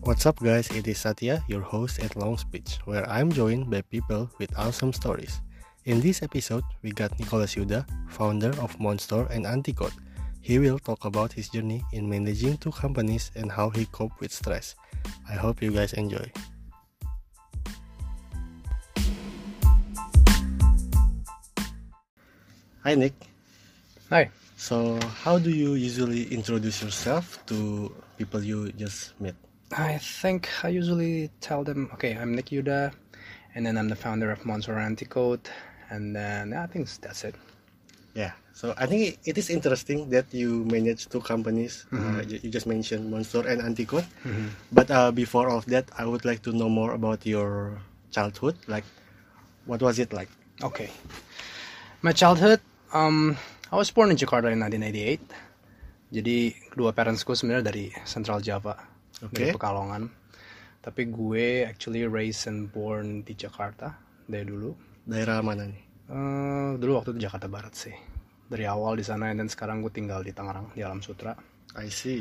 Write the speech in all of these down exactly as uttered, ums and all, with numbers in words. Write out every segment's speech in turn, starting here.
What's up, guys? It is Satya, your host at Long Speech, where I'm joined by people with awesome stories. In this episode, we got Nicholas Yuda, founder of Monster and Anticode. He will talk about his journey in managing two companies and how he coped with stress. I hope you guys enjoy. Hi, Nick. Hi. So, how do you usually introduce yourself to people you just met? I think I usually tell them, okay, I'm Nick Yuda, and then I'm the founder of Monster Anticode, and then I think that's it. Yeah, so I think it is interesting that you manage two companies. Mm-hmm. Uh, you, you just mentioned Monster and Anticode. Mm-hmm. But uh, before all of that, I would like to know more about your childhood. Like, what was it like? Okay. My childhood, um, I was born in Jakarta in nineteen ninety-eight. Jadi kedua parentsku sebenarnya dari Central Java, Okay. dari Pekalongan. Tapi gue actually raised and born di Jakarta dari dulu. Daerah mana nih? Uh, dulu waktu itu Jakarta Barat sih. Dari awal di sana, dan sekarang gue tinggal di Tangerang, di Alam Sutra. I see.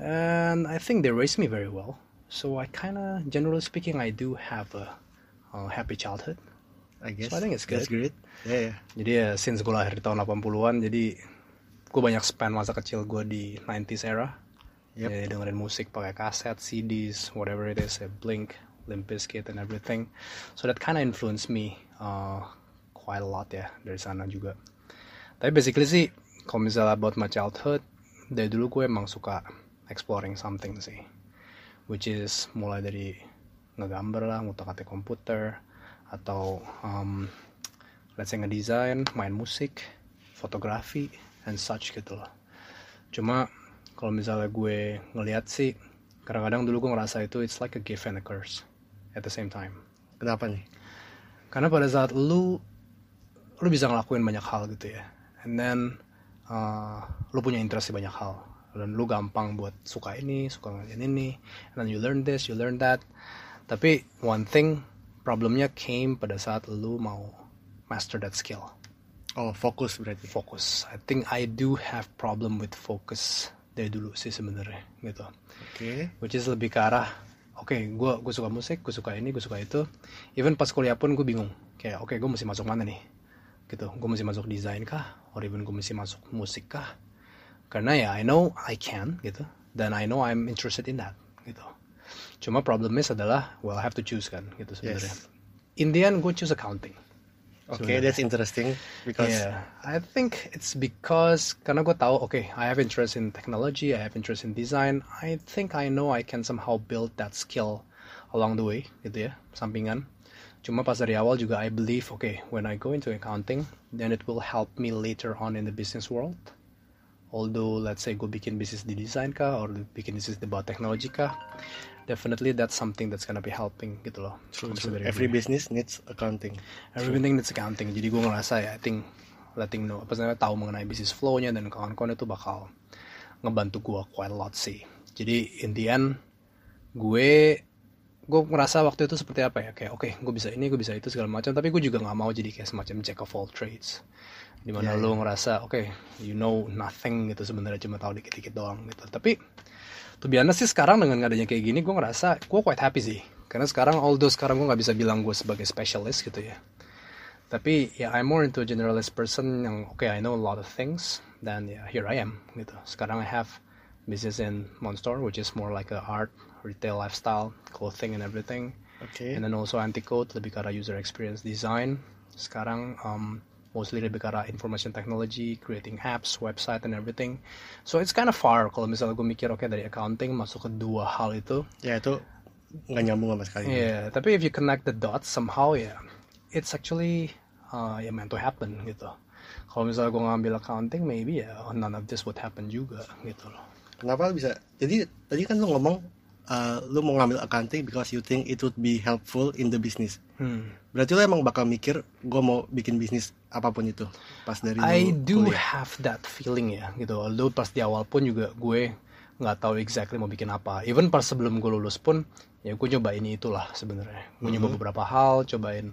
And I think they raised me very well. So I kind of, generally speaking, I do have a, a happy childhood. I guess. So I think it's good. That's great. Yeah, yeah. Jadi ya, since gue lahir di tahun delapan puluhan, jadi gue banyak spend masa kecil gue di nineties era. Yep. Jadi dengerin musik pakai kaset, C Ds, whatever it is, ya, Blink, Limp Bizkit, and everything. So that kind of influenced me uh, quite a lot ya, dari sana juga. Tapi basically sih, kalau misalnya about my childhood, dari dulu gue emang suka exploring something sih. Which is mulai dari ngegambar lah, ngutak-atik komputer, atau um, let's say ngedesain, main musik, fotografi, and such gitu loh. Cuma kalau misalnya gue ngeliat sih, kadang-kadang dulu gue ngerasa itu it's like a gift and a curse at the same time. Kenapa nih? Karena pada saat lu lu bisa ngelakuin banyak hal gitu ya, and then uh, lu punya interest di banyak hal, dan lu gampang buat suka ini, suka ngeliatin ini, and then you learn this, you learn that. Tapi one thing, problemnya came pada saat lu mau master that skill. Oh, fokus berarti. Focus. I think I do have problem with focus dari dulu sih sebenarnya gitu. Oke. Okay. Which is lebih ke arah, oke, okay, gue gue suka musik, gue suka ini, gue suka itu. Even pas kuliah pun gue bingung. Kayak, oke, okay, gue mesti masuk mana nih? Gitu. Gue mesti masuk desain kah? Or even gue mesti masuk musik kah? Karena ya, I know I can gitu. Dan I know I'm interested in that gitu. Cuma problemnya adalah, well, I have to choose kan gitu sebenarnya. Yes. In the end, gue choose accounting. Okay, that's interesting because yeah, I think it's because karena gue tahu, okay, I have interest in technology, I have interest in design. I think I know I can somehow build that skill along the way, gitu ya, sampingan. Cuma pas dari awal juga I believe, okay, when I go into accounting, then it will help me later on in the business world. Although, let's say gue bikin bisnis di design kah, or bikin bisnis di bawah teknologi kah, definitely that's something that's gonna be helping gitu loh. True, true. Every business needs accounting. Everything needs accounting. Jadi gue ngerasa ya, I think letting know, apa namanya, tahu mengenai bisnis flow-nya dan kawan-kawan itu bakal ngebantu gue quite a lot sih. Jadi in the end, gue gue ngerasa waktu itu seperti apa ya, kayak oke, okay, gue bisa ini, gue bisa itu segala macam. Tapi gue juga nggak mau jadi kayak semacam jack of all trades. Dimana yeah, lo ngerasa, oke, okay, you know nothing gitu sebenarnya, cuma tahu dikit-dikit doang gitu. Tapi to be honest sih sekarang dengan adanya kayak gini, gue ngerasa gue quite happy sih. Karena sekarang, although sekarang gue gak bisa bilang gue sebagai specialist gitu ya. Tapi ya, I'm more into a generalist person yang, okay, I know a lot of things. Dan ya, yeah, here I am gitu. Sekarang I have business in Monster, which is more like a art, retail, lifestyle, clothing and everything. Okay. And then also Anticode, lebih ke arah user experience design. Sekarang, um, mostly lebih ke arah information technology, creating apps, website, and everything. So it's kind of far kalau misalnya gue mikir, oke, okay, dari accounting masuk ke dua hal itu. Ya, itu nggak nyambung sama sekali. Iya, yeah, tapi if you connect the dots somehow, ya, yeah, it's actually uh, ya yeah, meant to happen gitu. Kalau misalnya gue ngambil accounting, maybe ya yeah, none of this would happen juga gitu loh. Kenapa bisa? Jadi tadi kan lu ngomong, uh, lu mau ngambil accounting because you think it would be helpful in the business. Hmm. Berarti lo emang bakal mikir, gue mau bikin bisnis apapun itu pas dari I do kuliah. have that feeling ya gitu. Although pas di awal pun juga gue nggak tahu exactly mau bikin apa. Even pas sebelum gue lulus pun, ya gue nyoba ini itulah sebenarnya. Gue mm-hmm. nyoba beberapa hal, cobain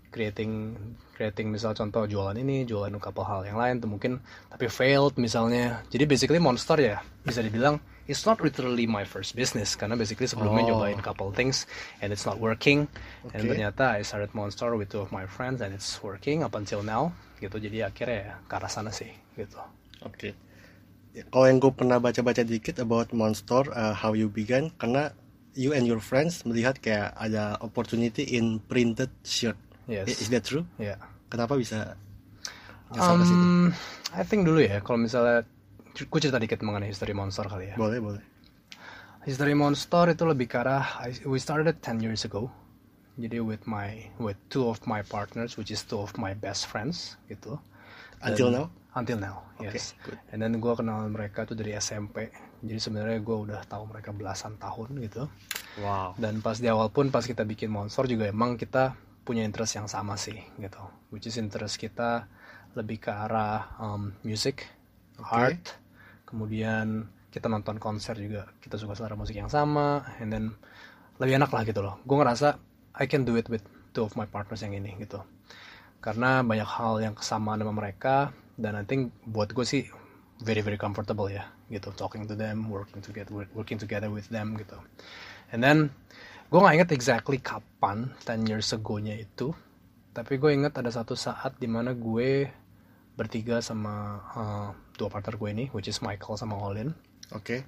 creating creating misal contoh jualan ini, jualan couple hal yang lain tuh mungkin tapi failed misalnya. Jadi basically Monster ya bisa dibilang it's not literally my first business karena basically sebelumnya Oh. nyobain couple things and it's not working. And Okay. ternyata I started Monster with two of my friends and it's working up until now gitu. Jadi akhirnya ya ke arah sana sih gitu. Oke. Ya, kalau yang gue pernah baca-baca dikit about Monster, uh, how you began, karena you and your friends melihat kayak ada opportunity in printed shirt. Yes. Is that true? Ya. Kenapa bisa nyasar ke situ? Um, I think dulu ya kalau misalnya gue cerita dikit mengenai history Monster kali ya. Boleh, boleh. History Monster itu lebih ke arah I- we started ten years ago. Jadi with my with two of my partners which is two of my best friends gitu. Dan- Until now? Until now, Okay, yes. good. And then gue kenal mereka tuh dari S M P. Jadi sebenarnya gue udah tahu mereka belasan tahun gitu. Wow. Dan pas di awal pun pas kita bikin Monster juga emang kita punya interest yang sama sih gitu. Which is interest kita lebih ke arah um, music, Oke. art, kemudian kita nonton konser juga kita suka selera musik yang sama, and then lebih enak lah gitu loh. Gue ngerasa I can do it with two of my partners yang ini gitu. Karena banyak hal yang kesamaan sama mereka dan I think buat gue sih very very comfortable ya gitu, talking to them, working together working together with them gitu. And then gue nggak inget exactly kapan ten years ago-nya itu, tapi gue inget ada satu saat dimana gue bertiga sama uh, dua partner gue ini, which is Michael sama Olin. Oke.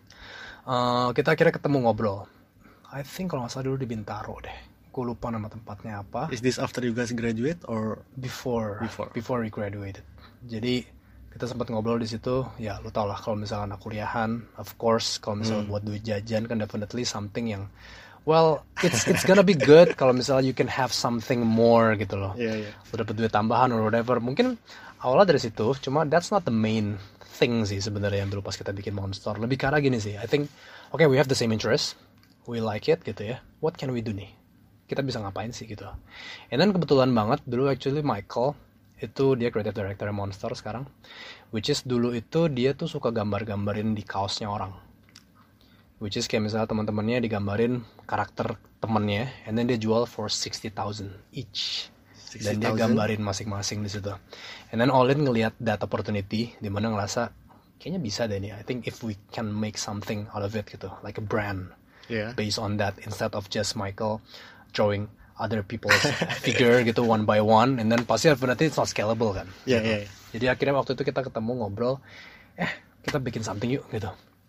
Uh, kita akhirnya ketemu ngobrol. I think kalau nggak salah dulu di Bintaro deh. Gue lupa nama tempatnya apa. Is this after you guys graduate or Before, Before. before we graduated. Jadi kita sempat ngobrol di situ. Ya lu tau lah kalau misalnya anak kuliahan, of course kalau misalnya buat duit jajan kan definitely something yang, well it's it's gonna be good kalau misalnya you can have something more gitu loh. Iya, iya. Lu dapet duit tambahan or whatever. Mungkin awalnya dari situ, cuma that's not the main thing sih sebenarnya yang dulu pas kita bikin Monster. Lebih ke arah gini sih. I think, okay we have the same interest, we like it gitu ya. What can we do nih? Kita bisa ngapain sih gitu. And then kebetulan banget dulu actually Michael itu dia creative director Monster sekarang, which is dulu itu dia tuh suka gambar-gambarin di kaosnya orang, which is kayak misalnya teman-temannya digambarin karakter temennya, and then dia jual for sixty thousand each, dan dia sixty thousand? gambarin masing-masing di situ. And then Olin ngelihat that opportunity, di mana ngerasa kayaknya bisa deh nih. I think if we can make something out of it gitu, like a brand Iya. based on that instead of just Michael drawing other people's figure gitu one by one, and then pasti berarti it's not scalable kan. Iya, gitu. iya, iya. Jadi akhirnya waktu itu kita ketemu ngobrol, eh kita bikin something yuk gitu.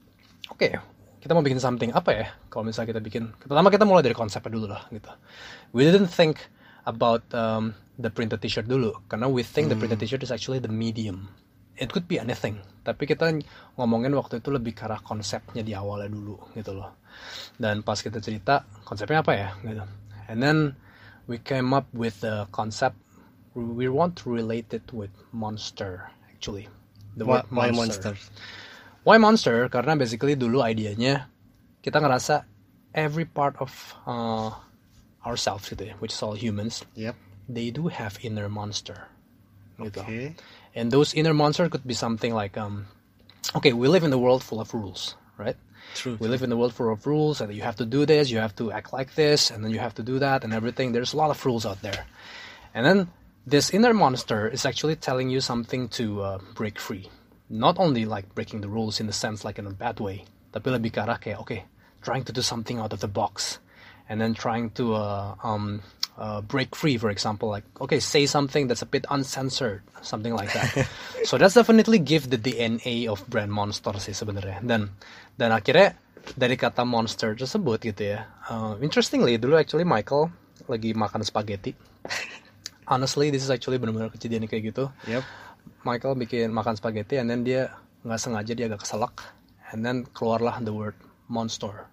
Oke, kita mau bikin something apa ya? Kalau misalnya kita bikin, pertama kita mulai dari konsepnya dulu lah gitu. We didn't think about um, the printed t-shirt dulu, karena we think the printed t-shirt is actually the medium. It could be anything, tapi kita ngomongin waktu itu lebih ke arah konsepnya di awalnya dulu gitu loh. Dan pas kita cerita konsepnya apa ya gitu. And then we came up with the concept. We want to relate it with Monster actually. The Why, word why monster? Why Monster? Karena basically dulu idenya kita ngerasa every part of uh, ourselves gitu ya, which is all humans, Yep. they do have inner monster. Gitu. Okay. And those inner monster could be something like, um, okay, we live in a world full of rules, right? True. We live in a world full of rules, and you have to do this, you have to act like this, and then you have to do that, and everything. There's a lot of rules out there. And then this inner monster is actually telling you something to uh, break free. Not only like breaking the rules in the sense like in a bad way, tapi lebih ke arah kayak, okay, trying to do something out of the box, and then trying to uh, um, uh, break free, for example, like, okay, say something that's a bit uncensored, something like that. So that's definitely give the D N A of brand Monster sih sebenarnya. Dan dan akhirnya dari kata monster tersebut gitu ya. Uh, interestingly, dulu actually Michael lagi makan spaghetti. Honestly, this is actually benar-benar kejadian kayak gitu. Yep. Michael bikin makan spaghetti, and then dia nggak sengaja dia agak keselak, and then keluarlah the word monster.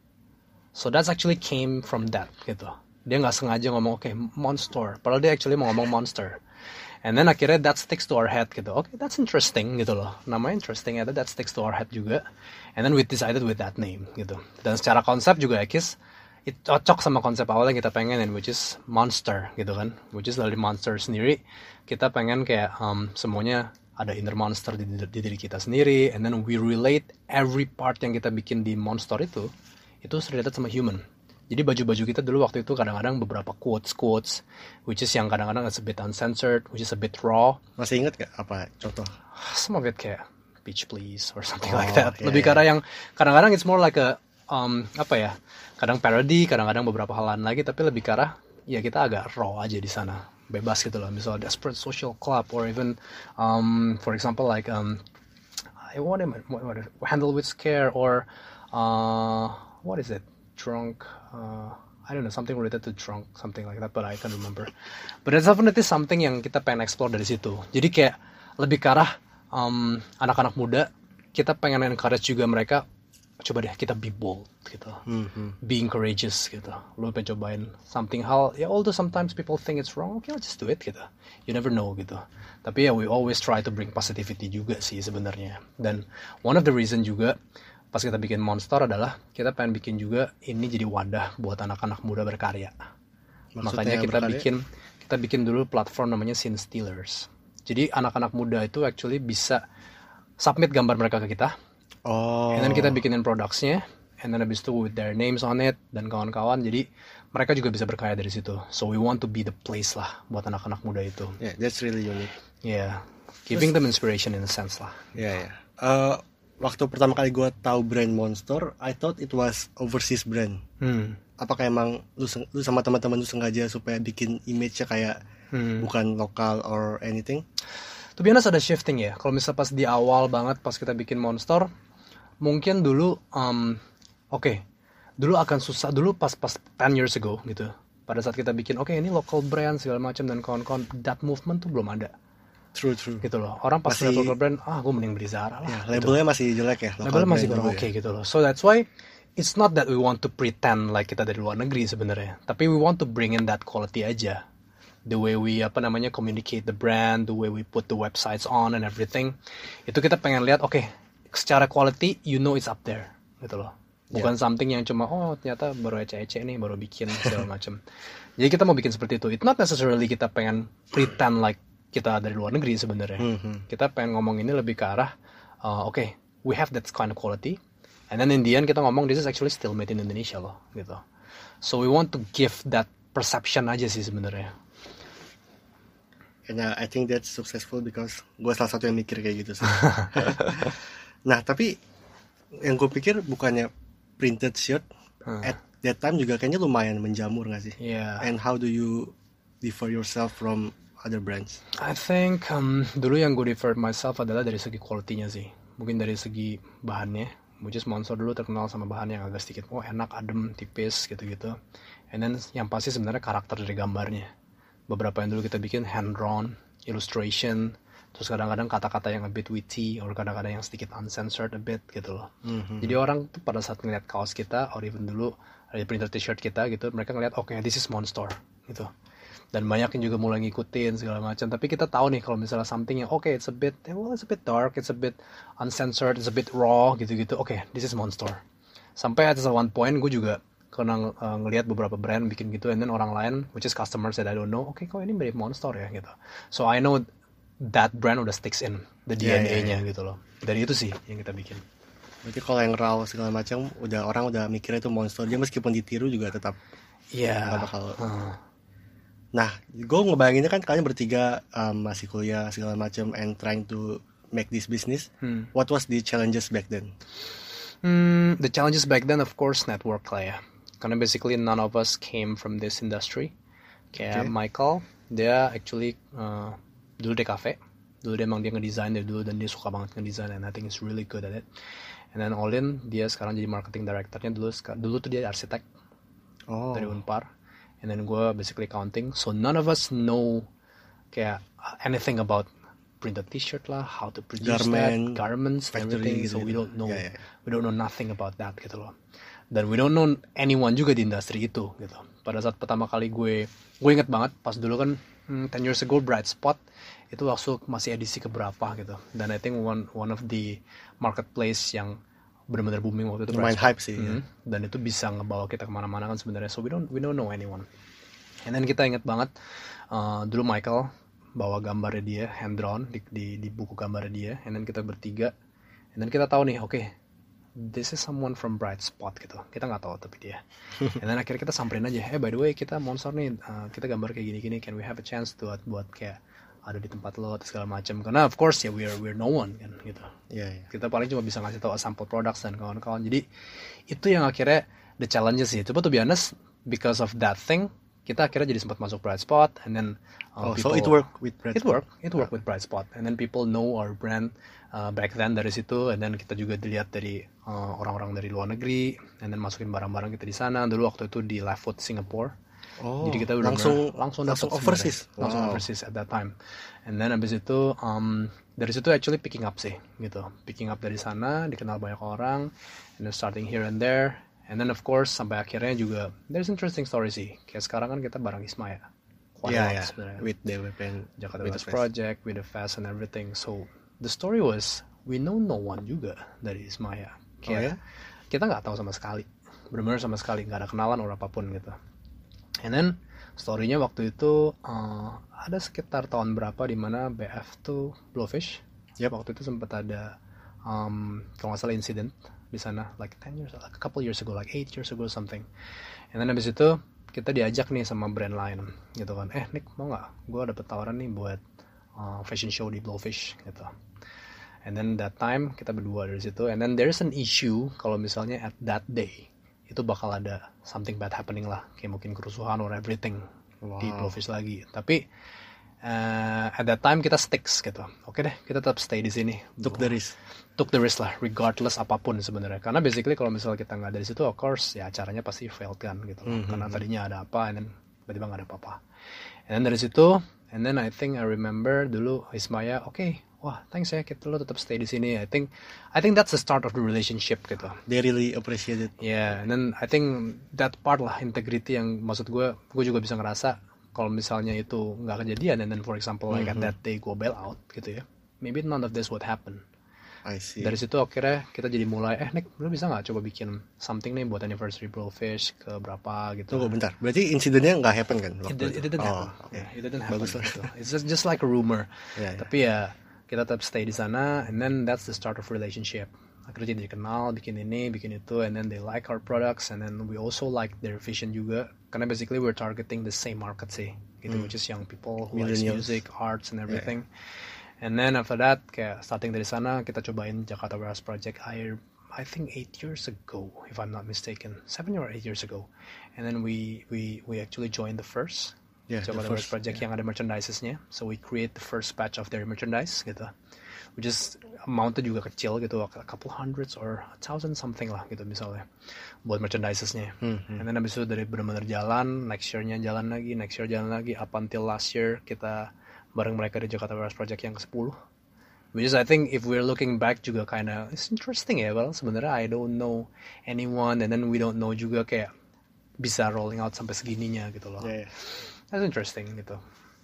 So that's actually came from that gitu. Dia nggak sengaja ngomong oke okay, monster, padahal dia actually mau ngomong monster. And then akhirnya that sticks to our head gitu. Oke, okay, that's interesting gitu loh. Namanya interesting, ada that sticks to our head juga. And then we decided with that name gitu. Dan secara konsep juga ya Kis, it cocok sama konsep awal yang kita pengenin, which is monster gitu kan. Which is dari monster sendiri, kita pengen kayak um, semuanya ada inner monster di, di diri kita sendiri. And then we relate every part yang kita bikin di monster itu, itu related sama human. Jadi baju-baju kita dulu waktu itu kadang-kadang beberapa quotes-quotes, which is yang kadang-kadang it's a bit uncensored, which is a bit raw. Masih inget gak apa contoh? Some of it kayak beach please or something Oh, like that. yeah, Lebih yeah. ke arah yang kadang-kadang it's more like a um, apa ya? Kadang parody, kadang-kadang beberapa hal lain lagi, tapi lebih ke arah ya kita agak raw aja di sana, bebas gitu loh. Misalnya desperate social club or even um, for example like um, I want to what, what, handle with scare or uh, what is it? Drunk. Uh, I don't know, something related to drunk, something like that, but I can't remember. But it's definitely something yang kita pengen explore dari situ. Jadi kayak lebih ke arah um, anak-anak muda, kita pengen encourage juga mereka, coba deh kita be bold gitu, Mm-hmm. being courageous gitu. Lo pengen cobain something hal, ya although sometimes people think it's wrong, okay let's just do it gitu. You never know gitu. Tapi ya we always try to bring positivity juga sih sebenarnya. Dan one of the reason juga pas kita bikin Monster adalah kita pengen bikin juga ini jadi wadah buat anak-anak muda berkarya. Maksudnya Makanya kita berkarya? bikin kita bikin dulu platform namanya Scene Stealers. Jadi anak-anak muda itu actually bisa submit gambar mereka ke kita, Oh. and then kita bikinin productsnya, and then habis itu with their names on it dan kawan-kawan. Jadi mereka juga bisa berkarya dari situ. So we want to be the place lah buat anak-anak muda itu. Yeah, that's really unique. Yeah, giving them inspiration in a sense lah. Ya, ya. Eh, waktu pertama kali gue tahu brand Monster, I thought it was overseas brand. Hmm. Apakah emang lu, seng- lu sama teman-teman lu sengaja supaya bikin image-nya kayak Hmm. bukan lokal or anything? To be honest ada shifting ya. Kalau misalnya pas di awal banget pas kita bikin Monster, mungkin dulu, um, oke, okay, dulu akan susah dulu pas pas ten years ago gitu. Pada saat kita bikin, oke okay, ini local brand segala macam dan kawan-kawan, that movement tuh belum ada. True, true. Gitu loh. Orang pas Masih- lihat local brand, ah gue mending beli Zara lah. Ya, gitu. labelnya masih jelek ya. local Labelnya masih brand kurang dulu oke ya. gitu loh. So that's why it's not that we want to pretend like kita dari luar negeri sebenarnya, tapi we want to bring in that quality aja. The way we apa namanya communicate the brand, the way we put the websites on and everything. Itu kita pengen lihat, oke, secara quality you know it's up there gitu loh. Bukan something yang cuma oh ternyata baru ece-ece nih, baru bikin segala macam. Jadi kita mau bikin seperti itu. It's not necessarily kita pengen pretend like kita dari luar negeri sebenarnya. Mhm. Kita pengen ngomong ini lebih ke arah uh, oke, okay, we have that kind of quality. And then in the end kita ngomong this is actually still made in Indonesia loh gitu. So we want to give that perception aja sih sebenarnya. And uh, I think that's successful because gue salah satu yang mikir kayak gitu sih. Nah, tapi yang gue pikir bukannya printed shirt Hmm. at that time juga kayaknya lumayan menjamur gak sih? Yeah. And how do you differ yourself from other brands? I think um, dulu yang gue differ myself adalah dari segi quality-nya sih. Mungkin dari segi bahannya, which is Monster dulu terkenal sama bahan yang agak sedikit oh enak, adem, tipis gitu-gitu. And then yang pasti sebenarnya karakter dari gambarnya. Beberapa yang dulu kita bikin hand drawn, illustration, terus kadang-kadang kata-kata yang a bit witty, or kadang-kadang yang sedikit uncensored a bit gitu loh. Mhm. Jadi orang tuh pada saat ngeliat kaos kita, or even dulu ada printer t-shirt kita gitu, mereka ngeliat oke okay, this is Monster gitu. Dan banyak yang juga mulai ngikutin segala macam. Tapi kita tahu nih kalau misalnya something yang oke okay, it's a bit, well it's a bit dark, it's a bit uncensored, it's a bit raw gitu-gitu. Oke, okay, this is Monster. Sampai at one point gue juga kena uh, ngelihat beberapa brand bikin gitu, and then orang lain, which is customers that I don't know, oke okay, kok ini mirip Monster ya gitu. So I know that brand udah sticks in the D N A-nya Yeah, yeah, yeah. gitu loh. Dari itu sih yang kita bikin. Berarti kalau yang raw segala macam udah orang udah mikirnya itu Monster. Dia meskipun ditiru juga tetap Iya. nggak bakal. Hmm. Nah, gue ngebayanginnya kan kalian bertiga um, masih kuliah segala macam and trying to make this business. Hmm. What was the challenges back then? Hmm, the challenges back then, of course, network lah ya. Karena basically none of us came from this industry. Kayak Okay. Michael, dia actually uh, dulu di cafe. Dulu dia emang dia ngedesain dari dulu dan dia suka banget ngedesain, and I think he's really good at it. And then Olin, dia sekarang jadi marketing directornya. Dulu dulu tuh dia arsitek Oh, dari Unpar. And then gue basically accounting. So none of us know kayak anything about printed t-shirt lah, how to produce Garment, that, garments, factory everything. So gitu-gitu. we don't know, Yeah, yeah. we don't know nothing about that gitu loh. Dan we don't know anyone juga di industri itu gitu. Pada saat pertama kali gue, gue inget banget pas dulu kan hmm, ten years ago Bright Spot itu waktu masih edisi keberapa gitu. Dan I think one one of the marketplace yang benar-benar booming waktu itu lumayan Bright Spot. hype sih. ya. Mhm. Dan itu bisa ngebawa kita kemana-mana kan sebenarnya. So we don't we don't know anyone. And then kita inget banget uh, dulu Michael bawa gambarnya dia hand drawn di, di di buku gambarnya dia. And then kita bertiga. And then kita tahu nih, oke, okay, this is someone from Bright Spot gitu. Kita nggak tahu tapi dia. And then akhirnya kita samperin aja, eh by the way kita Monster nih, uh, kita gambar kayak gini-gini, can we have a chance to buat kayak ada di tempat lo atau segala macam. Karena of course ya we're we're no one kan gitu. Yeah, yeah. Kita paling cuma bisa ngasih tahu sample products dan kawan-kawan. Jadi itu yang akhirnya the challenges sih. Coba to be honest, because of that thing kita akhirnya jadi sempat masuk Bright Spot, and then uh, oh, people, so it worked with Bright it Spot. work it work with Bright Spot, and then people know our brand uh, back then dari situ, and then kita juga dilihat dari uh, orang-orang dari luar negeri, and then masukin barang-barang kita di sana. Dulu waktu itu di Live Food Singapore. Oh, jadi kita udah langsung langsung langsung dapet overseas, wow. langsung overseas at that time, and then abis itu um, dari situ actually picking up sih gitu, picking up dari sana, dikenal banyak orang, and then starting here and there. And then of course sampai akhirnya juga there's interesting story sih. Kayak sekarang kan kita bareng Ismaya. Quite yeah, a lot yeah. sebenarnya. With D W P and Jakarta with Wellness the Project, with the fest and everything. So the story was we know no one juga dari Ismaya. Kayak oh, ya? kita nggak tahu sama sekali. Benar-benar sama sekali nggak ada kenalan or apapun gitu. And then story-nya waktu itu uh, ada sekitar tahun berapa di mana B F tuh Blowfish. Yep. Waktu itu sempat ada um, kalau nggak salah incident di sana like ten years, like a couple years ago, like eight years ago something. And then habis itu kita diajak nih sama brand lain gitu kan, eh Nick mau nggak, gue dapet tawaran nih buat uh, fashion show di Blowfish gitu. And then that time kita berdua dari situ, and then there's an issue kalau misalnya at that day itu bakal ada something bad happening lah, kayak mungkin kerusuhan or everything wow. di Blowfish lagi. Tapi uh, at that time kita sticks gitu, oke deh kita tetap stay di sini. Took the risk. Took the risk lah, regardless apapun sebenarnya. Karena basically kalau misalnya kita nggak dari situ, of course ya acaranya pasti failed kan gitu. Mm-hmm. Karena tadinya ada apa, and then tiba-tiba nggak ada apa-apa. And then dari situ, and then I think I remember dulu Ismaya, oke, okay, wah thanks ya, kita lo tetap stay di sini. I think, I think that's the start of the relationship gitu. They really appreciate it. Yeah, and then I think that part lah, integrity yang maksud gue, gue juga bisa ngerasa kalau misalnya itu nggak kejadian, and then for example like mm-hmm. at that day gue bail out gitu ya, maybe none of this would happen. I see. Dari situ akhirnya kita jadi mulai, eh Nick, lu bisa nggak coba bikin something nih buat anniversary Blowfish ke berapa gitu. Tunggu bentar, berarti insidennya nggak happen kan? It, it didn't oh, happen. Okay. Yeah, it didn't happen. Bagus lah. Gitu. It's just, just like a rumor. Yeah, yeah. Tapi ya kita tetap stay di sana, and then that's the start of relationship. Akhirnya jadi kenal, bikin ini, bikin itu, and then they like our products, and then we also like their vision juga. Karena basically we're targeting the same market sih, gitu, hmm. which is young people who like music, arts, and everything. Yeah. And then after that, kayak starting dari sana, kita cobain Jakarta Wellness Project air, I think eight years ago, if I'm not mistaken, seven or eight years ago. And then we we we actually joined the first yeah, Jakarta Wellness Project yeah. yang ada merchandise-nya. So we create the first batch of their merchandise gitu, which is amount-nya juga kecil gitu, a couple hundreds or a thousand something lah gitu misalnya, buat merchandise-nya. Mm-hmm. And then abis itu dari benar-benar jalan, next year-nya jalan lagi, next year jalan lagi, up until last year kita bareng mereka di Jakarta Wellness Project yang ke sepuluh. Which is I think if we're looking back juga kinda it's interesting ya. Well sebenarnya I don't know anyone, and then we don't know juga kayak bisa rolling out sampai segininya gitu loh. Yeah, yeah. That's interesting gitu.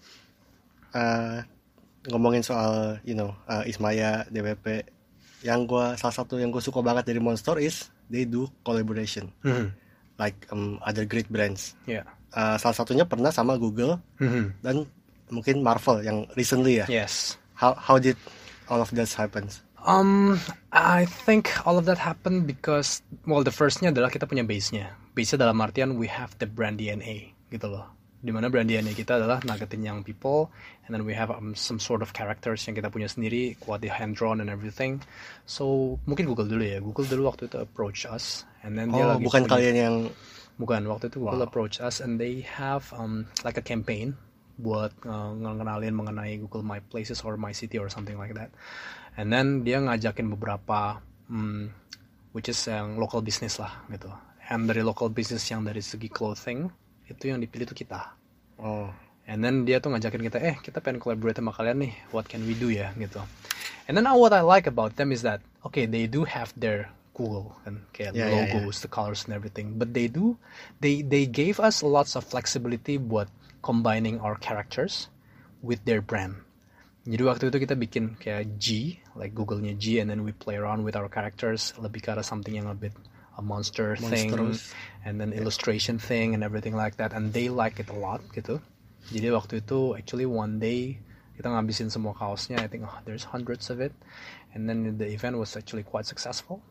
Uh, ngomongin soal you know uh, Ismaya, D W P, yang gua salah satu yang gue suka banget dari Monster is they do collaboration. Mm-hmm. Like um, other great brands. Yeah. Uh, salah satunya pernah sama Google mm-hmm. dan mungkin Marvel yang recently ya. Yes. How how did all of that happen? Um, I think all of that happened because well the firstnya adalah kita punya base-nya. Base-nya dalam artian we have the brand D N A gitu loh. Dimana brand D N A kita adalah nargetin young people, and then we have um, some sort of characters yang kita punya sendiri, kuat di hand drawn and everything. So mungkin Google dulu ya. Google dulu waktu itu approach us, and then oh, dia lagi bukan punya, kalian yang bukan waktu itu Google wow. approach us, and they have um like a campaign buat uh, ngenalin mengenai Google My Places or My City or something like that. And then dia ngajakin beberapa um, which is yang local business lah gitu. And dari local business yang dari segi clothing itu yang dipilih tuh kita. Oh. And then dia tuh ngajakin kita, eh kita pengen collaborate sama kalian nih, what can we do ya gitu. And then what I like about them is that okay they do have their Google and kayak yeah, logos, yeah, yeah. the colors and everything, but they do they they gave us lots of flexibility buat combining our characters with their brand. Jadi waktu itu kita bikin kayak G, like Google-nya G, and then we play around with our characters, lebih ke arah something yang a bit a monster thing, and then yeah. illustration thing and everything like that, and they like it a lot gitu. Jadi waktu itu actually one day kita ngabisin semua kaosnya, I think oh, there's hundreds of it, and then the event was actually quite successful.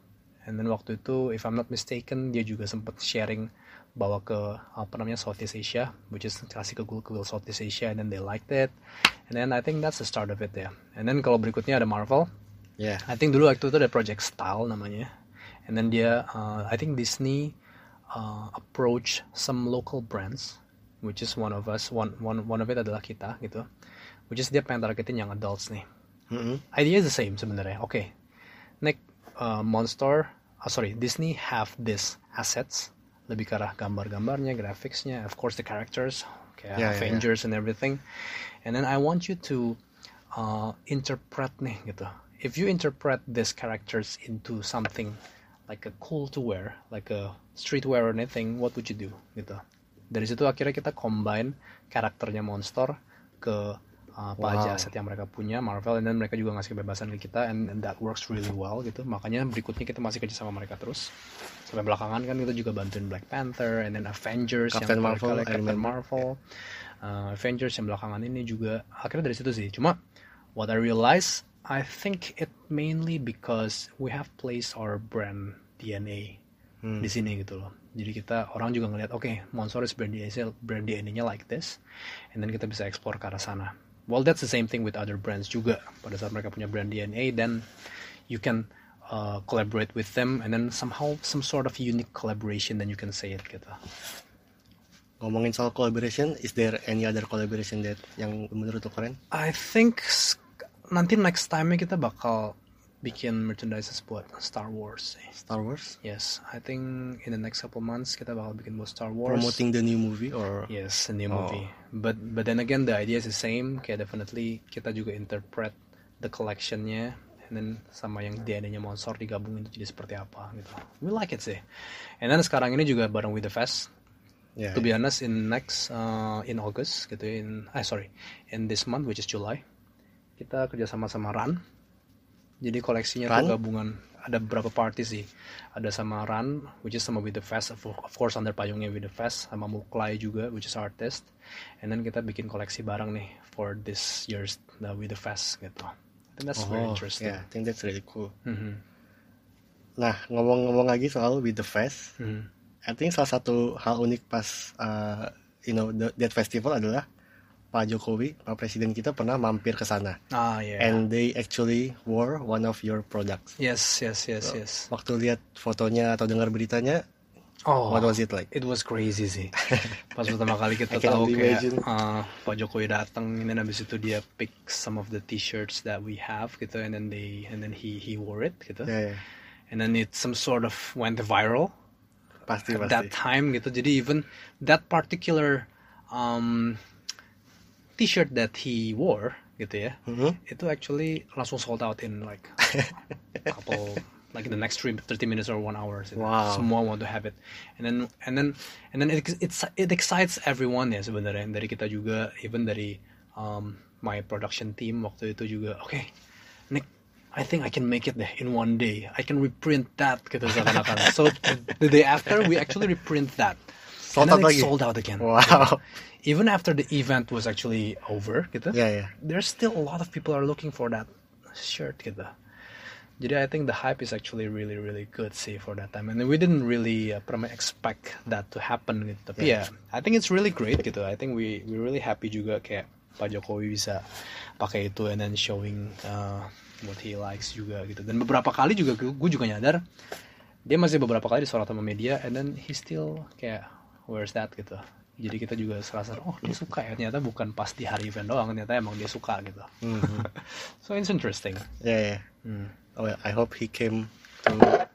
And then waktu itu, if I'm not mistaken, dia juga sempat sharing bawa ke apa namanya Southeast Asia, which is kasih ke Google Southeast Asia, and then they liked it. And then I think that's the start of it ya. Yeah. And then kalau berikutnya ada Marvel. Yeah. I think dulu waktu itu ada Project Style namanya. And then dia, uh, I think Disney uh, approach some local brands, which is one of us, one one one of it adalah kita gitu. Which is dia pengen targetin yang adults nih. Mm-hmm. Idea is the same sebenarnya. Oke, okay. Nick, uh, Monster, oh sorry, Disney have this assets, lebih ke arah gambar-gambarnya, graphicsnya, of course the characters, kayak yeah, Avengers yeah, yeah. and everything. And then I want you to uh, interpret nih gitu. If you interpret these characters into something like a cool to wear, like a streetwear or anything, what would you do gitu. Dari situ akhirnya kita combine karakternya Monster ke uh, apa wow. aja aset yang mereka punya Marvel, and then mereka juga ngasih kebebasan ke kita, and, and that works really well gitu. Makanya berikutnya kita masih kerja sama mereka terus sampai belakangan kan kita juga bantuin Black Panther, and then Avengers, Captain yang Marvel, Captain Marvel, uh, Avengers yang belakangan ini juga akhirnya dari situ sih. Cuma what I realize, I think it mainly because we have placed our brand D N A hmm. di sini gitu loh. Jadi kita orang juga ngelihat, oke, okay, Monster is brand D N A, brand D N A-nya like this, and then kita bisa explore ke arah sana. Well, that's the same thing with other brands juga. Pada saat mereka punya brand D N A, then you can uh, collaborate with them, and then somehow some sort of unique collaboration, then you can say it gitu. Ngomongin soal collaboration, is there any other collaboration that yang menurut lo keren? I think nanti next time-nya kita bakal bikin merchandise buat Star Wars. Star Wars? Yes, I think in the next couple months kita bakal bikin buat Star Wars. Promoting the new movie or? Yes, a new oh. movie. But but then again the idea is the same. Kayak definitely kita juga interpret the collection-nya, and then sama yang D N A-nya Monster digabungin itu jadi seperti apa gitu. We like it sih. And then sekarang ini juga bareng with the Fest. Yeah, to be yeah. honest, in next uh, in August gitu, in ah sorry, in this month which is July, kita kerja sama sama Run. Jadi koleksinya Run? tuh gabungan, ada beberapa party sih. Ada sama Run, which is sama With The Fest, of, of course under payungnya With The Fest, sama Muklai juga, which is artist. And then kita bikin koleksi bareng nih for this year's the With The Fest gitu. I think that's oh, very interesting. Yeah, I think that's really cool. Mm-hmm. Nah, ngomong-ngomong lagi soal With The Fest, Mm-hmm. I think salah satu hal unik pas uh, you know the, that festival adalah Pak Jokowi, Pak Presiden kita pernah mampir ke sana. Ah, yeah. And they actually wore one of your products. Yes, yes, yes, so, yes. Waktu lihat fotonya atau dengar beritanya, oh, what was it like? It was crazy sih. Pas pertama kali kita I can tahu only kayak imagine. uh, Pak Jokowi datang, and then abis itu dia pick some of the t-shirts that we have gitu, and then they and then he he wore it gitu. Yeah, yeah. And then it some sort of went viral. Pasti, at pasti. that time gitu. Jadi even that particular um, t-shirt that he wore gitu ya, mm-hmm. itu actually langsung sold out in like a couple, like in the next thirty minutes or one hour. Gitu. Wow. Semua want to have it, and then and then and then it it's, it excites everyone ya sebenarnya. Dari kita juga, even dari um, my production team waktu itu juga. Oke, okay, Nick, I think I can make it in one day. I can reprint that gitu seakan-akan. So the day after we actually reprint that. Sold and then out it lagi. sold out again. Wow. Gitu. Even after the event was actually over gitu. Yeah, yeah. There's still a lot of people are looking for that shirt gitu. Jadi I think the hype is actually really really good sih for that time. And we didn't really uh, expect that to happen gitu. Tapi yeah. ya, I think it's really great gitu. I think we we really happy juga kayak Pak Jokowi bisa pakai itu and then showing uh, what he likes juga gitu. Dan beberapa kali juga gue juga nyadar dia masih beberapa kali disorot sama media, and then he still kayak where's that gitu. Jadi kita juga serasa oh dia suka ya, ternyata bukan pas di hari event doang, ternyata emang dia suka gitu. Mm-hmm. So it's interesting. Yeah, yeah. Mm. Oh, I hope he came to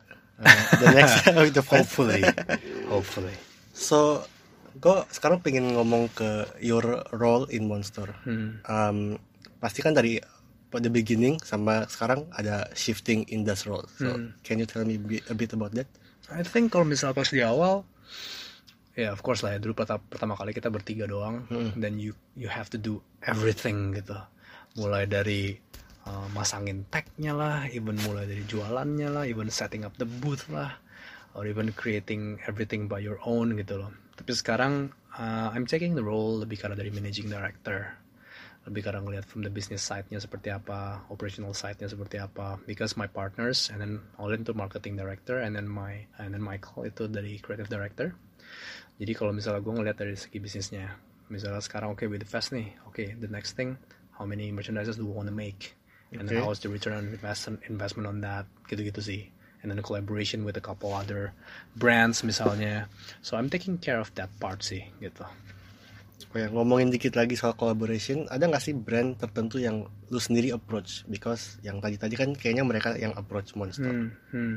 uh, the next with the fest. Hopefully, hopefully. So gue sekarang pengen ngomong ke your role in Monster. Hmm. Um, pasti kan dari the beginning sama sekarang ada shifting in this role. So Hmm. can you tell me a bit about that? I think kalau misal pas di awal, ya yeah, of course lah ya, dulu pertama, pertama kali kita bertiga doang, hmm. then you you have to do everything gitu. Mulai dari uh, masangin tag-nya lah, even mulai dari jualannya lah, even setting up the booth lah, or even creating everything by your own gitu loh. Tapi sekarang uh, I'm taking the role lebih karena dari managing director. lebih karena ngeliat from the business side-nya seperti apa, operational side-nya seperti apa. Because my partners, and then Olin itu marketing director, and then my and then Michael itu dari creative director. Jadi kalau misalnya gue ngeliat dari segi bisnisnya, misalnya sekarang oke okay, with the fest nih, oke okay, the next thing, how many merchandises do we want to make, and okay. then how is the return on investment investment on that, gitu-gitu sih. And then a collaboration with a couple other brands misalnya. So I'm taking care of that part sih, gitu. Oh ya, ngomongin dikit lagi soal collaboration, ada nggak sih brand tertentu yang lu sendiri approach? Because yang tadi-tadi kan kayaknya mereka yang approach Monster. Hmm, hmm.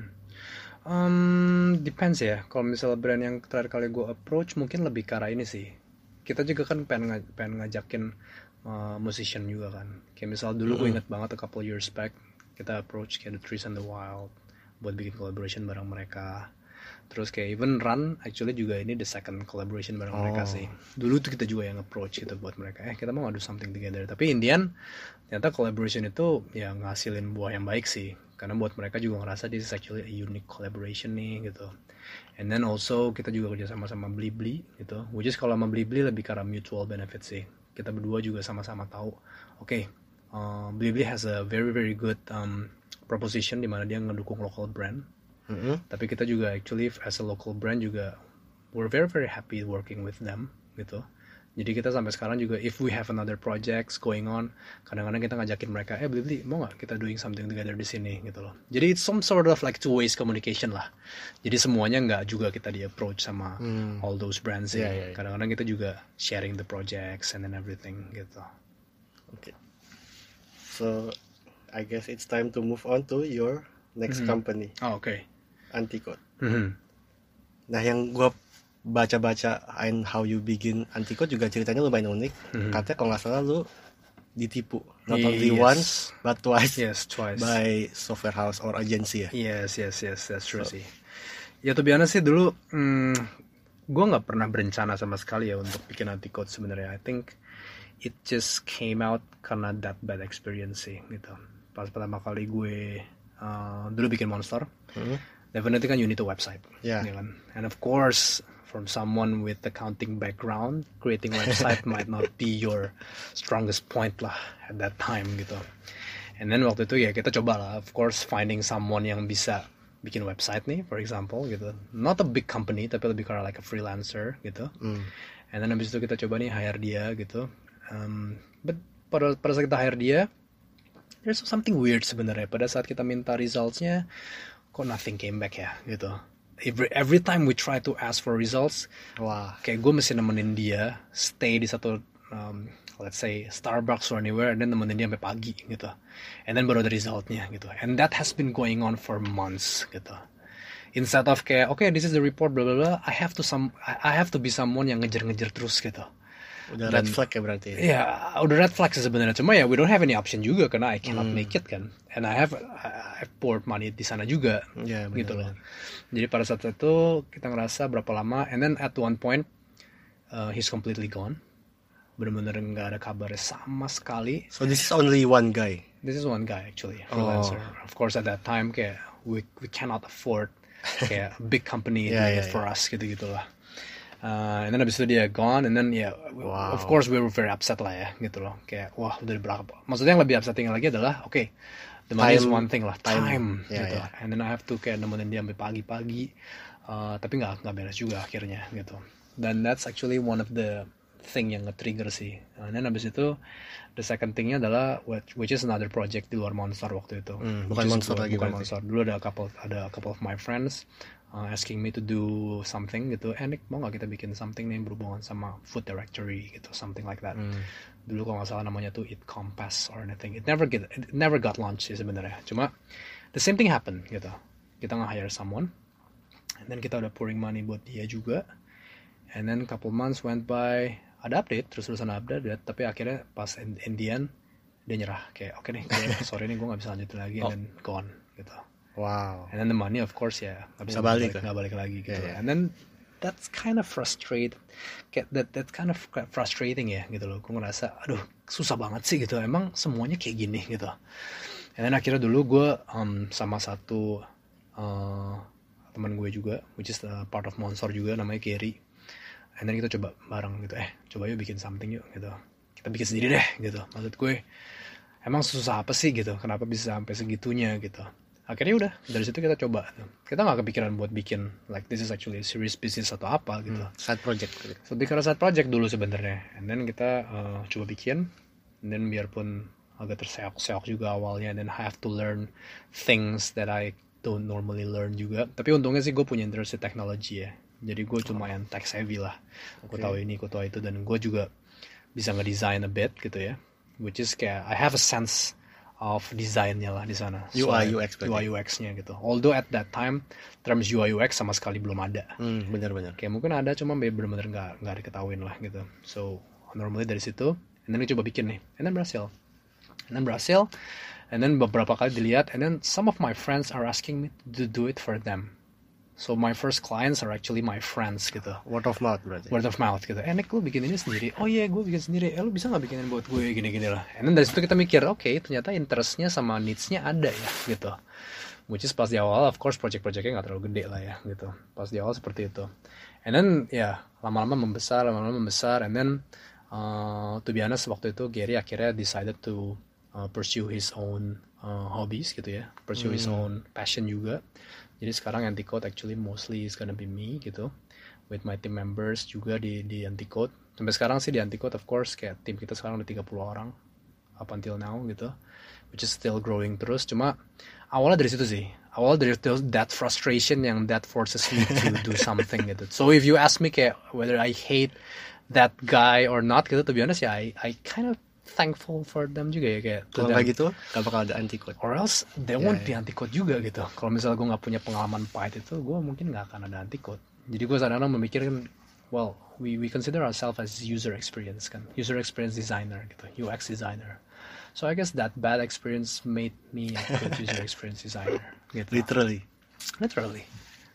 Um, depends ya. Kalau misalnya brand yang terakhir kali gue approach mungkin lebih ke arah ini sih. Kita juga kan pengen, ng- pengen ngajakin uh, musician juga kan. Kayak misal dulu mm-hmm. gue inget banget a couple years back kita approach kayak The Trees and the Wild buat bikin collaboration bareng mereka. Terus kayak even Run actually juga ini the second collaboration bareng oh. mereka sih. Dulu tuh kita juga yang approach gitu buat mereka. Eh kita mau ngadu something together. Tapi Indian ternyata collaboration itu ya ngasilin buah yang baik sih. Karena buat mereka juga ngerasa this is actually a unique collaboration nih gitu. And then also kita juga kerja sama-sama Blibli gitu. Which is kalau sama Blibli lebih karena mutual benefit sih. Kita berdua juga sama-sama tahu. Oke, okay, uh, Blibli has a very very good um, proposition di mana dia ngedukung local brand. Mm-hmm. Tapi kita juga actually as a local brand juga we're very very happy working with them gitu. Jadi kita sampai sekarang juga if we have another projects going on, kadang-kadang kita ngajakin mereka, eh beli mau nggak kita doing something together di sini gitu loh. Jadi it's some sort of like two ways communication lah. Jadi semuanya nggak juga kita di approach sama hmm. all those brands ya. Yeah, yeah, yeah. Kadang-kadang kita juga sharing the projects and then everything gitu. Oke. Okay. So I guess it's time to move on to your next mm-hmm. company. Oh, oke. Okay. Anticode. Mm-hmm. Nah yang gue baca-baca and how you begin Anticode juga ceritanya lumayan unik. Mm-hmm. Katanya kalau nggak salah lu ditipu, not only yes. once but twice. Yes, twice. By software house or agency ya. Yes, yes, yes, that's true so. Sih. Ya tuh biasa sih dulu, hmm, gue nggak pernah berencana sama sekali ya untuk bikin Anticode sebenarnya. I think it just came out karena that bad experience sih gitu. Pas pertama kali gue uh, dulu bikin Monster. Mm-hmm. Definitely kan you need a website, yeah. ya kan? And of course, from someone with accounting background, creating website might not be your strongest point lah at that time gitu. And then waktu itu ya kita coba lah, of course finding someone yang bisa bikin website nih, for example gitu. Not a big company, tapi lebih kayak like a freelancer gitu. Mm. And then habis itu kita coba nih hire dia gitu. Um, but pada pada saat kita hire dia, there's something weird sebenarnya. Pada saat kita minta results-nya, kok nothing came back ya gitu. Every, every time we try to ask for results, wah, kayak gue mesti nemenin dia stay di satu um, let's say Starbucks or anywhere, and then nemenin dia sampai pagi gitu. And then baru ada resultnya gitu. And that has been going on for months gitu. Instead of kayak okay this is the report blah blah blah, I have to some I have to be someone yang ngejar-ngejar terus gitu. Udah Dan, red flag ya berarti. Iya, udah red flag sih sebenarnya. Cuma ya we don't have any option juga karena I cannot hmm. make it kan. And I have I have poured money di sana juga. Ya, bener, gitu loh. Bener. Jadi pada saat itu kita ngerasa berapa lama, and then at one point uh, he's completely gone. Bener-bener nggak ada kabarnya sama sekali. So this is only one guy. This is one guy actually, freelancer. Oh. Of course at that time kayak we we cannot afford kayak big company yeah, yeah, for yeah. us gitu-gitu lah. Uh, and then abis itu dia gone, and then ya, yeah, wow. of course we were very upset lah ya, gitu loh. Kayak, wah udah berapa? Maksudnya yang lebih upsetting lagi adalah, oke, okay, the money time, is one thing lah, time, time yeah, gitu. Yeah. And then I have to kayak nemenin dia sampai pagi-pagi, uh, tapi nggak nggak beres juga akhirnya, gitu. Dan that's actually one of the thing yang nge-trigger sih. And then abis itu, the second thingnya adalah which, which is another project di luar Monster waktu itu. Mm, bukan Monster lagi, bukan Monster. Dulu ada a couple, ada a couple of my friends. Uh, asking me to do something gitu, eh Nick mau nggak kita bikin something nih berhubungan sama food directory gitu, something like that. Mm. Dulu kalau nggak salah namanya tuh It Compass or anything. It never get, it never got launched sih sebenarnya. Cuma the same thing happen gitu. Kita nge-hire someone, and then kita udah pouring money buat dia juga, and then couple months went by, ada update, terus-terusan update, tapi akhirnya pas in, in the end dia nyerah kayak oke okay nih, gue, sorry nih gue nggak bisa lanjutin lagi, and then gone gitu. Wow. And then the money of course ya nggak bisa balik, nggak balik lagi gitu. Yeah, yeah. And then that's kind of frustrated, kayak that that kind of frustrating ya gitu loh. Gue ngerasa, aduh susah banget sih gitu. Emang semuanya kayak gini gitu. And then akhirnya dulu gue um, sama satu uh, teman gue juga, which is uh, part of Monster juga, namanya Kerry. And then kita coba bareng gitu, eh coba yuk bikin something yuk gitu. kita bikin sendiri deh gitu. Maksud gue emang susah apa sih gitu, kenapa bisa sampai segitunya gitu. Akhirnya udah dari situ kita coba, kita nggak kepikiran buat bikin like this is actually a serious business atau apa gitu. Hmm, side project. Lebih karena side project dulu sebenarnya, and then kita uh, coba bikin, and then biarpun agak terseok-seok juga awalnya, dan I have to learn things that I don't normally learn juga. Tapi untungnya sih gue punya interest di teknologi ya, jadi gue cuma yang tech savvy lah. Gue Okay. tahu ini, gue tahu itu, dan gue juga bisa ngedesign a bit gitu ya, which is kayak I have a sense of desainnya lah di sana. U I So, U X berarti. U I U X-nya gitu. Although at that time terms U I U X sama sekali belum ada. Hmm, benar-benar. Kayak mungkin ada, cuma bener-bener nggak nggak diketahuin lah gitu. So normally dari situ, and then gue coba bikin nih, and then berhasil, and then berhasil, and then beberapa kali dilihat, and then some of my friends are asking me to do it for them. So my first clients are actually my friends gitu. Word of mouth berarti. Word of mouth gitu. Eh Nick, lu bikin ini sendiri? Oh iya, yeah, gue bikin sendiri. Eh lu bisa gak bikinin buat gue gini-gini lah. And then dari situ kita mikir, oke okay, ternyata interestnya sama needs-nya ada ya gitu. Which is pas di awal, of course project-projectnya gak terlalu gede lah ya gitu. Pas di awal seperti itu. And then ya yeah, lama-lama membesar, lama-lama membesar. And then uh, to be honest, waktu itu Gary akhirnya decided to uh, pursue his own uh, hobbies gitu ya. Pursue hmm. his own passion juga. Jadi sekarang Anticode actually mostly is gonna be me gitu, with my team members juga di di Anticode. Sampai sekarang sih di Anticode of course kayak tim kita sekarang udah tiga puluh orang up until now gitu, which is still growing terus. Cuma awalnya dari situ sih, awalnya dari that frustration yang that forces me to do something gitu. So if you ask me kayak whether I hate that guy or not gitu, to be honest ya, I I kind of thankful for them juga ya kayak. Kalau nggak gitu, gak bakal ada Anticode. Or else there yeah, won't yeah. be Anticode juga gitu. Kalau misalnya gue nggak punya pengalaman pahit itu, gue mungkin nggak akan ada Anticode. Jadi gue kadang-kadang memikirkan, well, we we consider ourselves as user experience kan, user experience designer gitu, U X designer. So I guess that bad experience made me a good user experience designer. Gitu. Literally. Literally.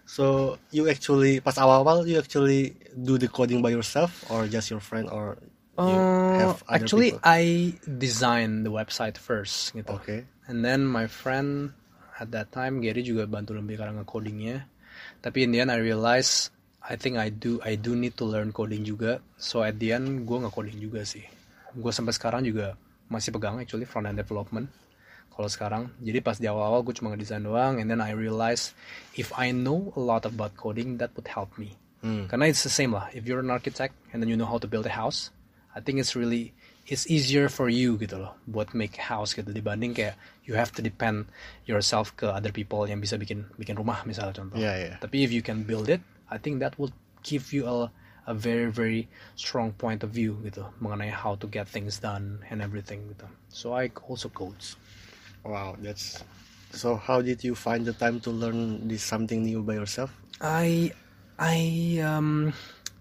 So you actually pas awal-awal you actually do the coding by yourself or just your friend or you have Uh, other actually, people? I designed the website first gitu. Okay. And then my friend at that time, Gary juga bantu lebih karena nge-codingnya. Tapi in the end I realize I think I do I do need to learn coding juga. So at the end gue nge-coding juga sih. Gue sampai sekarang juga masih pegang actually front end development. Kalau sekarang, jadi pas di awal-awal gue cuma ngedesain doang, and then I realize if I know a lot about coding, that would help me. Hmm. Karena it's the same lah. If you're an architect and then you know how to build a house, I think it's really it's easier for you gitu loh buat make a house gitu, dibanding kayak you have to depend yourself ke other people yang bisa bikin bikin rumah misalnya contoh. Yeah, yeah. Tapi if you can build it, I think that will give you a a very very strong point of view gitu mengenai how to get things done and everything gitu. So I also codes. Wow, that's so. How did you find the time to learn this something new by yourself? I I um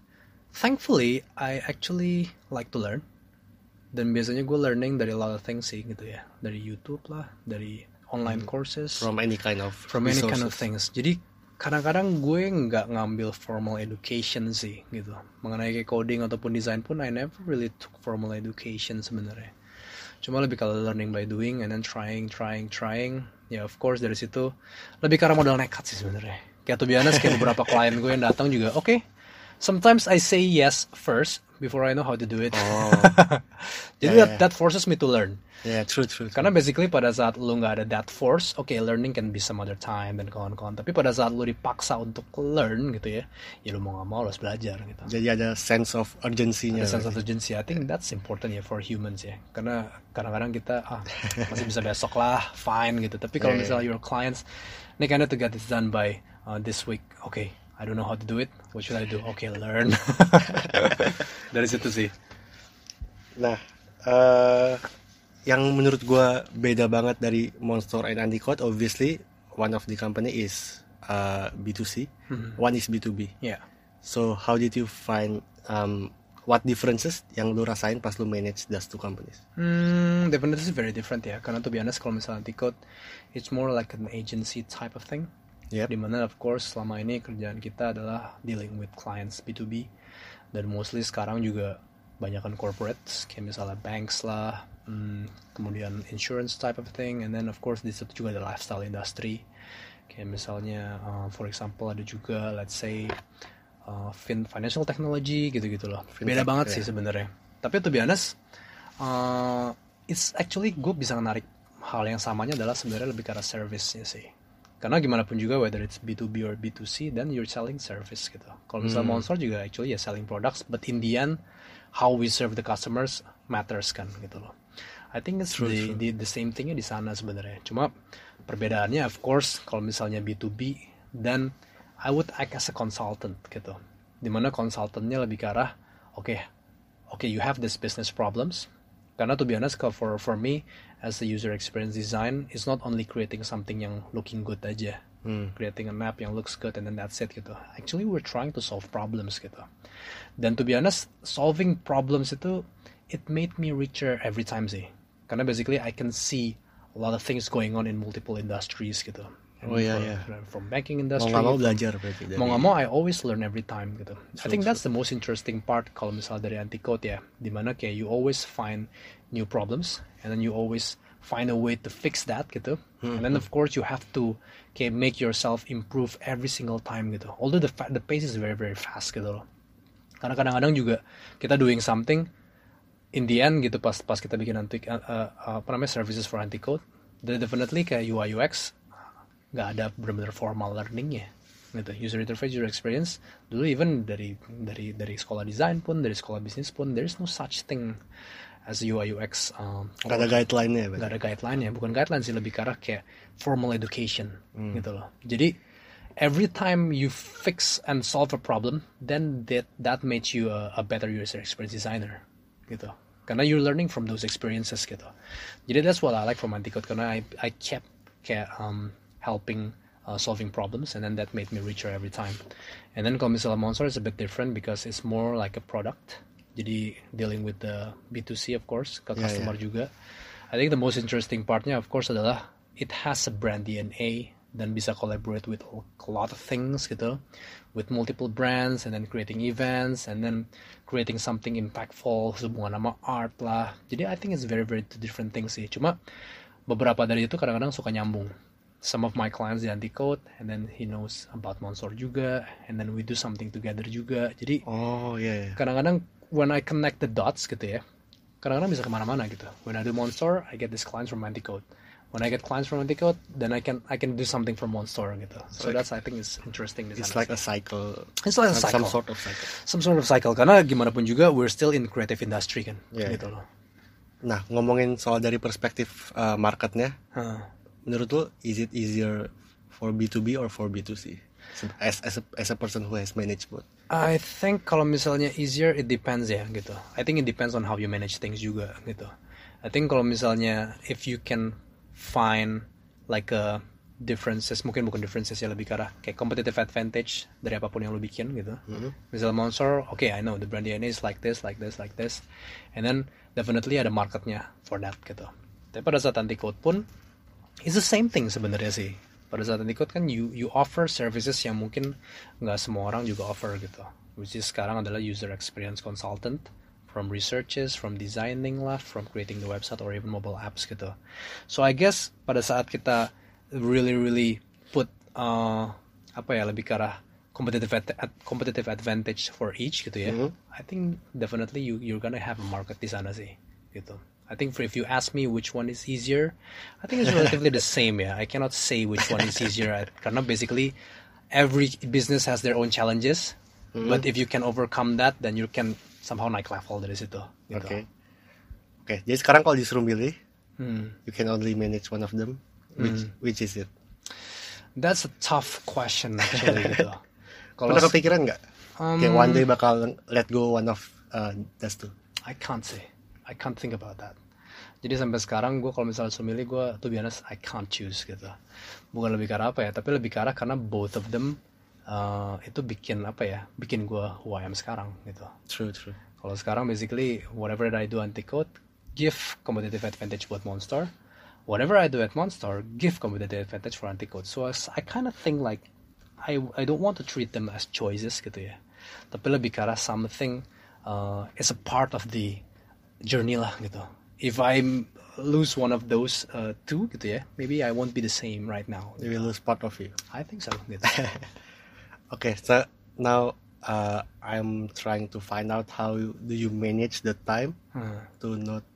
thankfully I actually like to learn. Dan biasanya gue learning dari a lot of things sih gitu ya, dari YouTube lah, dari online courses, From any kind of from any kind of resources. things. Jadi kadang-kadang gue nggak ngambil formal education sih gitu mengenai kayak coding ataupun design pun I never really took formal education sebenarnya. Cuma lebih kalau learning by doing and then trying, trying, trying. Ya of course dari situ lebih karena modal nekat sih sebenarnya. Kayak to be honest, kayak beberapa klien gue yang datang juga, oke, okay, sometimes I say yes first before I know how to do it. Oh. Jadi Yeah, that, yeah. that forces me to learn. Yeah, true, true. true. Karena basically pada saat lu nggak ada that force, oke, okay, learning can be some other time dan kawan-kawan. Tapi pada saat lu dipaksa untuk learn gitu ya, ya lu mau nggak mau lu harus belajar gitu. Jadi ada sense of urgency-nya. Ada sense of urgency. I think that's important ya for humans ya. Karena kadang-kadang kita ah masih bisa besok lah, fine gitu. Tapi kalau Yeah, misalnya your clients, Nick, I need to get this done by uh, this week. Okay, I don't know how to do it. What should I do? Okay, learn. Dari situ sih. Nah, eh yang menurut gua beda banget dari Monster and Anticode, obviously one of the company is uh, B two C, one is B two B. Yeah. So how did you find um, what differences yang lu rasain pas lu manage those two companies? Hmm, definitely very different ya. Karena to be honest, kalau misalnya Anticode, it's more like an agency type of thing. Yep. Dimana of course selama ini kerjaan kita adalah dealing with clients B two B. Dan mostly sekarang juga banyakkan corporates, kayak misalnya banks lah, hmm, kemudian insurance type of thing, and then of course di situ juga ada lifestyle industry, kayak misalnya uh, for example ada juga let's say uh, fin financial technology gitu-gitu loh. Beda Fintech, banget ya. sih sebenarnya. Tapi to be honest, Uh, it's actually gue bisa menarik hal yang samanya adalah sebenarnya lebih ke arah service-nya sih. Karena gimana pun juga whether it's B two B or B two C, then you're selling service gitu. Kalau misalnya Hmm. Monster juga actually ya selling products, but in the end how we serve the customers matters kan gitu loh. I think it's True, the, true. the the same thingnya di sana sebenarnya. Cuma perbedaannya of course kalau misalnya B two B, then I would act as a consultant gitu. Dimana consultantnya lebih ke arah, oke, okay, oke okay, you have this business problems. Karena to be honest, for for me as a user experience design, it's not only creating something yang looking good aja, Hmm. creating a map yang looks good and then that's it gitu. Actually we're trying to solve problems gitu. Dan to be honest, solving problems itu it made me richer every time sih. Karena basically I can see a lot of things going on in multiple industries gitu. And Oh, iya, from, iya. from banking Mau industry, nggak mau from- belajar berarti dari. mau nggak mau I always learn every time gitu. I True, think that's the most interesting part kalau misalnya dari Anticode ya, dimana kayak you always find new problems and then you always find a way to fix that gitu. And then of course you have to kayak make yourself improve every single time gitu. Although the fa- the pace is very very fast gitu loh. Karena kadang-kadang juga kita doing something in the end gitu pas pas kita bikin anti uh, uh, apa namanya services for Anticode, then definitely kayak U I U X nggak ada benar-benar formal learningnya gitu. User interface, user experience dulu even dari dari dari sekolah desain pun, dari sekolah bisnis pun, there is no such thing as U I U X. Um, Nggak ada guideline-nya ya, nggak ada guideline ya, bukan guideline sih, lebih ke arah kayak formal education gitu loh. Jadi every time you fix and solve a problem, then that that makes you a, a better user experience designer gitu. Karena you're learning from those experiences gitu. Jadi that's what I like from Anticode, karena I I kept kayak um, helping uh, solving problems and then that made me richer every time. And then kalau misalnya Monster is a bit different because it's more like a product. Jadi dealing with the B two C of course, ke Yeah, customer yeah. juga. I think the most interesting partnya of course adalah it has a brand D N A dan bisa collaborate with a lot of things gitu, with multiple brands and then creating events and then creating something impactful hubungan sama art lah. Jadi I think it's very very two different things sih. Cuma beberapa dari itu kadang-kadang suka nyambung. Some of my clients di Anticode and then he knows about Monster juga and then we do something together juga. Jadi Oh iya. Yeah. kadang-kadang when I connect the dots gitu ya, kadang-kadang bisa kemana-mana gitu. When I do Monster, I get these clients from Anticode. When I get clients from Anticode, then I can I can do something from Monster gitu. So Like- that's I think is interesting. di It's sana like a sih. cycle. It's like a Some- Some cycle. sort of cycle. Some sort of cycle. Karena gimana pun juga we're still in creative industry kan, Yeah. gitu loh. Nah, ngomongin soal dari perspektif uh, marketnya, Huh. menurut lo is it easier for B two B or for B two C? As as a, as a person who has managed both. I think kalau misalnya easier, it depends ya gitu. I think it depends on how you manage things juga gitu. I think kalau misalnya if you can find like a differences, mungkin bukan differences ya, lebih ke arah kayak competitive advantage dari apapun yang lo bikin gitu. Misalnya Monster, okay I know the brand D N A is like this, like this, like this, and then definitely ada marketnya for that gitu. Tapi pada saat Anticode pun it's the same thing sebenarnya sih. Pada saat Anticode kan you you offer services yang mungkin nggak semua orang juga offer gitu. Which is sekarang adalah user experience consultant, from researches, from designing lah, from creating the website or even mobile apps gitu. So I guess pada saat kita really really put uh, apa ya lebih ke arah competitive ad- ad- competitive advantage for each gitu ya. Mhm. I think definitely you you're gonna have a market di sana sih gitu. I think for, if you ask me which one is easier, I think it's relatively the same ya. I cannot say which one is easier I- karena basically every business has their own challenges. But if you can overcome that, then you can somehow naik level dari situ. Gitu. Oke. Oke, jadi sekarang kalau disuruh milih, Hmm. you can only manage one of them. Which which is it? That's a tough question actually gitu. Kalau Pernah kepikiran nggak? Um, Kayak one day bakal let go one of uh, those two. I can't say. I can't think about that. Jadi sampai sekarang gue kalau misalnya suruh milih, gue to be honest I can't choose gitu. Bukan lebih ke arah apa ya, tapi lebih ke arah karena both of them uh, itu bikin apa ya, bikin gue who I am sekarang gitu. True, true. Kalau sekarang basically whatever that I do Anticode give competitive advantage buat Monster. Whatever I do at Monster give competitive advantage for Anticode. So I, I kind of think like I I don't want to treat them as choices gitu ya. Tapi lebih ke arah something uh, is a part of the journey lah gitu. If I lose one of those uh, two gitu ya, maybe I won't be the same right now. You will lose part of you. I think so gitu. Okay, so now uh, I'm trying to find out how you, do you manage the time Hmm. to not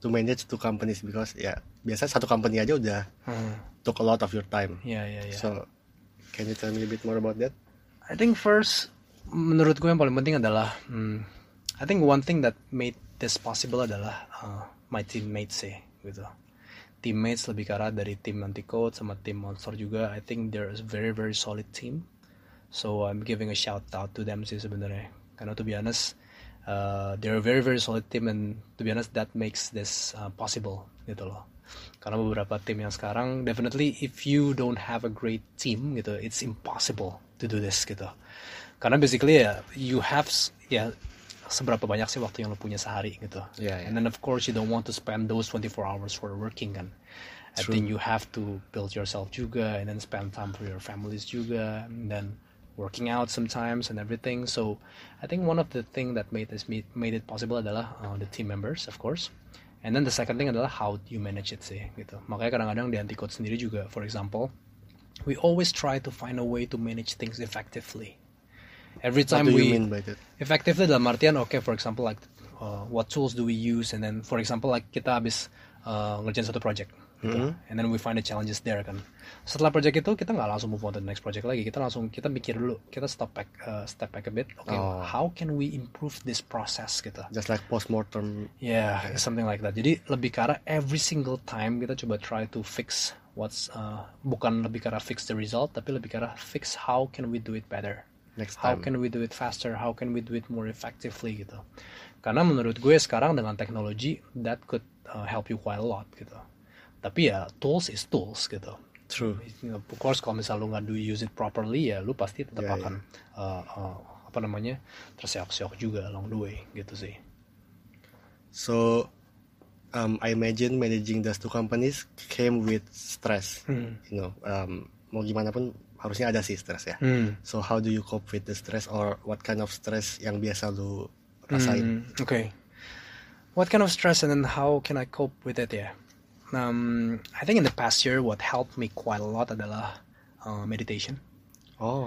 to manage two companies because ya biasa satu company aja udah Hmm. took a lot of your time. Ya ya ya. So can you tell me a bit more about that? I think first, menurut gue yang paling penting adalah, hmm, I think one thing that made this possible adalah uh, my teammates sih, gitu. Teammates lebih ke arah dari tim Anti-Code sama tim Monster juga. I think they're a very very solid team. So I'm giving a shout out to them sih sebenarnya. Karena to be honest, uh, they're a very very solid team and to be honest that makes this uh, possible gitu loh. Karena beberapa tim yang sekarang, definitely if you don't have a great team gitu, it's impossible to do this gitu. Karena basically ya, you have ya seberapa banyak sih waktu yang lo punya sehari gitu. Yeah, yeah. And then of course you don't want to spend those twenty-four hours for working kan. I True. think you have to build yourself juga and then spend time for your families juga and then working out sometimes and everything. So I think one of the thing that made this made it possible adalah uh, the team members of course. And then the second thing adalah how you manage it sih gitu. Makanya kadang-kadang di Anti-Code sendiri juga, for example, we always try to find a way to manage things effectively. Every time What do we you mean by that? effectively dalam artian, okay, for example like uh, what tools do we use, and then for example like kita habis uh, ngerjain satu project gitu. Mm-hmm. And then we find the challenges there kan. Setelah project itu kita nggak langsung move on to the next project lagi, kita langsung kita mikir dulu, kita stop back uh, step back a bit, okay, Oh. how can we improve this process gitu. Just like postmortem. Yeah, something like that. Jadi lebih ke arah every single time kita coba try to fix what's uh, bukan lebih ke arah fix the result, tapi lebih ke arah fix how can we do it better. Next How time. can we do it faster? How can we do it more effectively gitu. Karena menurut gue sekarang dengan teknologi that could uh, help you quite a lot gitu. Tapi ya tools is tools gitu. True. You know, of course kalau misal lu nggak do use it properly ya lu pasti tetap Yeah, akan uh, uh, apa namanya terseok-seok juga along the way gitu sih. So um, I imagine managing those two companies came with stress. Hmm. You know, um, mau gimana pun harusnya ada sih stress ya. Hmm. So how do you cope with the stress, or what kind of stress yang biasa lu rasain? Mm, okay. What kind of stress and then how can I cope with it? Yeah. Um, I think in the past year, what helped me quite a lot adalah uh, meditation. Oh,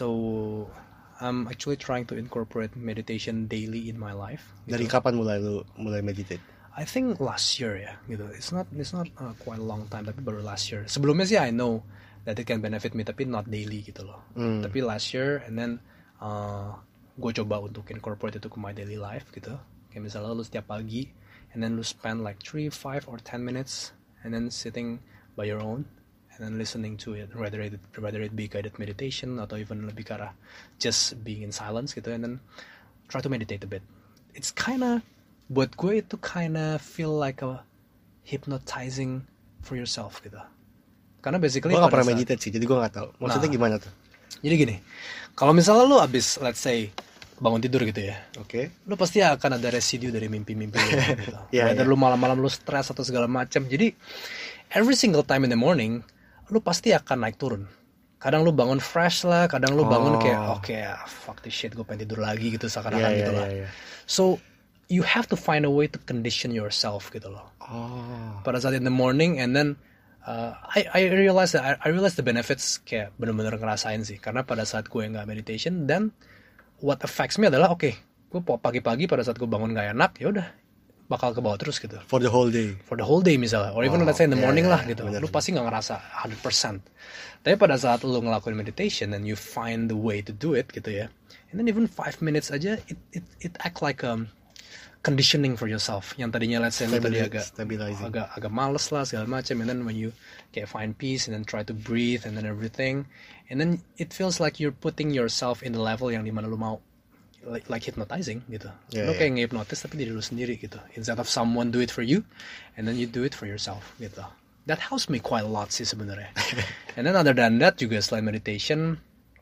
So I'm actually trying to incorporate meditation daily in my life. dari gitu. kapan mulai lu mulai meditate? I think last year ya, gitu. It's not it's not uh, quite a long time, tapi baru last year. Sebelumnya sih I know that it can benefit me, tapi not daily gitu loh. Hmm. Tapi last year, and then uh, gue coba untuk incorporate itu ke my daily life gitu. Kayak misalnya lu setiap pagi, and then lu spend like three, five, or ten minutes, and then sitting by your own, and then listening to it, whether it whether it be guided meditation atau even lebih ke arah just being in silence gitu, and then try to meditate a bit. It's kinda, buat gue itu kinda feel like a hypnotizing for yourself gitu. Karena basically Gue gak pada pernah saat- meditate sih, jadi gue gak tahu. Maksudnya Nah. gimana tuh? Jadi gini, kalau misalnya lu abis let's say bangun tidur gitu ya, Oke. lu pasti akan ada residu dari mimpi-mimpi lu gitu. Iya, Whether iya. lu malam-malam lu stres atau segala macam. Jadi every single time in the morning lu pasti akan naik turun. Kadang lu bangun fresh lah, kadang lu bangun Oh. kayak oke, ah, fuck this shit, gue pengen tidur lagi gitu seakan-akan Iya, gitu iya, lah. iya, iya. So you have to find a way to condition yourself gitu loh. Oh. Pada saat in the morning, and then uh, I I realize that I, I realize the benefits kayak bener-bener ngerasain sih. Karena pada saat gue nggak meditation, dan what affects me adalah oke, gue pagi-pagi pada saat gue bangun nggak enak, ya udah bakal ke bawah terus gitu. For the whole day. For the whole day misalnya, or even Oh, let's say in the yeah, morning yeah, lah yeah, gitu. bener. Lu pasti nggak ngerasa one hundred percent. Tapi pada saat lu ngelakuin meditation and you find the way to do it gitu ya, and then even five minutes aja, it it it act like um conditioning for yourself. Yang tadinya let's say lu tadi Stabili- agak stabilizing. agak agak males lah segala macam, and then when you kayak find peace and then try to breathe and then everything, and then it feels like you're putting yourself in the level yang dimana lu mau, like, like hypnotizing gitu. Yeah, Lu yeah. kayak nge-hypnotis tapi diri lu sendiri gitu. Instead of someone do it for you, and then you do it for yourself gitu. That helps me quite a lot sih sebenarnya. And then other than that juga selain meditation,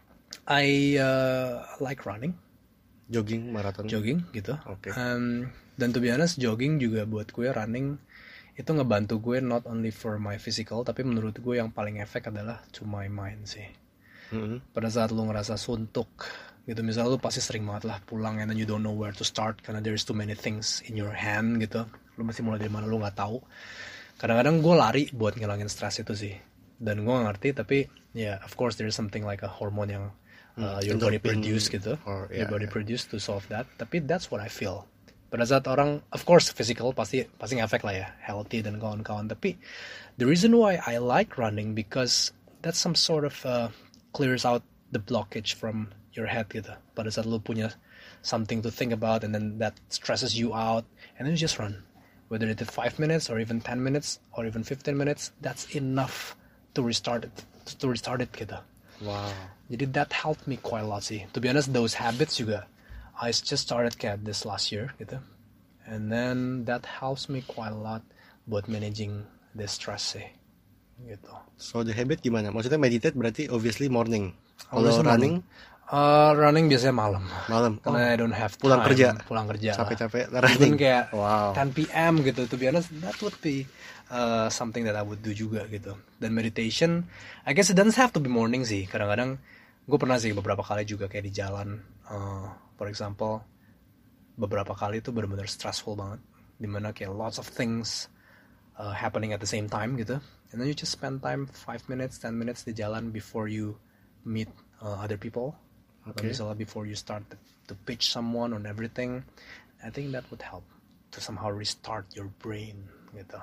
I uh, like running, Jogging, maraton. jogging gitu. Oke. Um, dan to be honest, jogging juga buat gue, running itu ngebantu gue not only for my physical, tapi menurut gue yang paling efek adalah to my mind sih. Mm-mm. Pada saat lu ngerasa suntuk gitu, misalnya lu pasti sering banget lah pulang and then you don't know where to start karena there's too many things in your hand gitu, lu mesti mulai dari mana lu nggak tahu. Kadang-kadang gue lari buat ngilangin stres itu sih, dan gue gak ngerti, tapi ya yeah, of course there's something like a hormone yang uh, Hmm, your body endorphin produce gitu, or- your yeah, body yeah. produce to solve that, tapi that's what I feel Pada saat orang, of course physical pasti pasti ngefek lah ya, healthy dan kawan-kawan. Tapi the reason why I like running because that's some sort of uh, clears out the blockage from your head gitu. Pada saat lu punya something to think about and then that stresses you out and then you just run. Whether it's five minutes or even ten minutes or even fifteen minutes, that's enough to restart it, to restart it gitu. Wow. Jadi that helped me quite a lot sih. To be honest, those habits juga, I just started kayak this last year gitu. And then that helps me quite a lot buat managing the stress sih. Gitu. So the habit gimana? Maksudnya meditate berarti obviously morning. Kalau Obviously running? Uh, running biasanya malam. Malam. Karena Oh. I don't have time. Pulang kerja. Pulang kerja. Capek-capek Even running. kayak Wow. ten p.m. gitu. To be honest, that would be uh, something that I would do juga gitu. Dan meditation, I guess it doesn't have to be morning sih. Kadang-kadang gue pernah sih beberapa kali juga kayak di jalan. Uh, for example, beberapa kali itu benar-benar stressful banget. Dimana kayak lots of things uh, happening at the same time gitu. And then you just spend time five minutes, ten minutes di jalan before you meet uh, other people. Okay. Misalnya before you start to, to pitch someone on everything, I think that would help to somehow restart your brain gitu.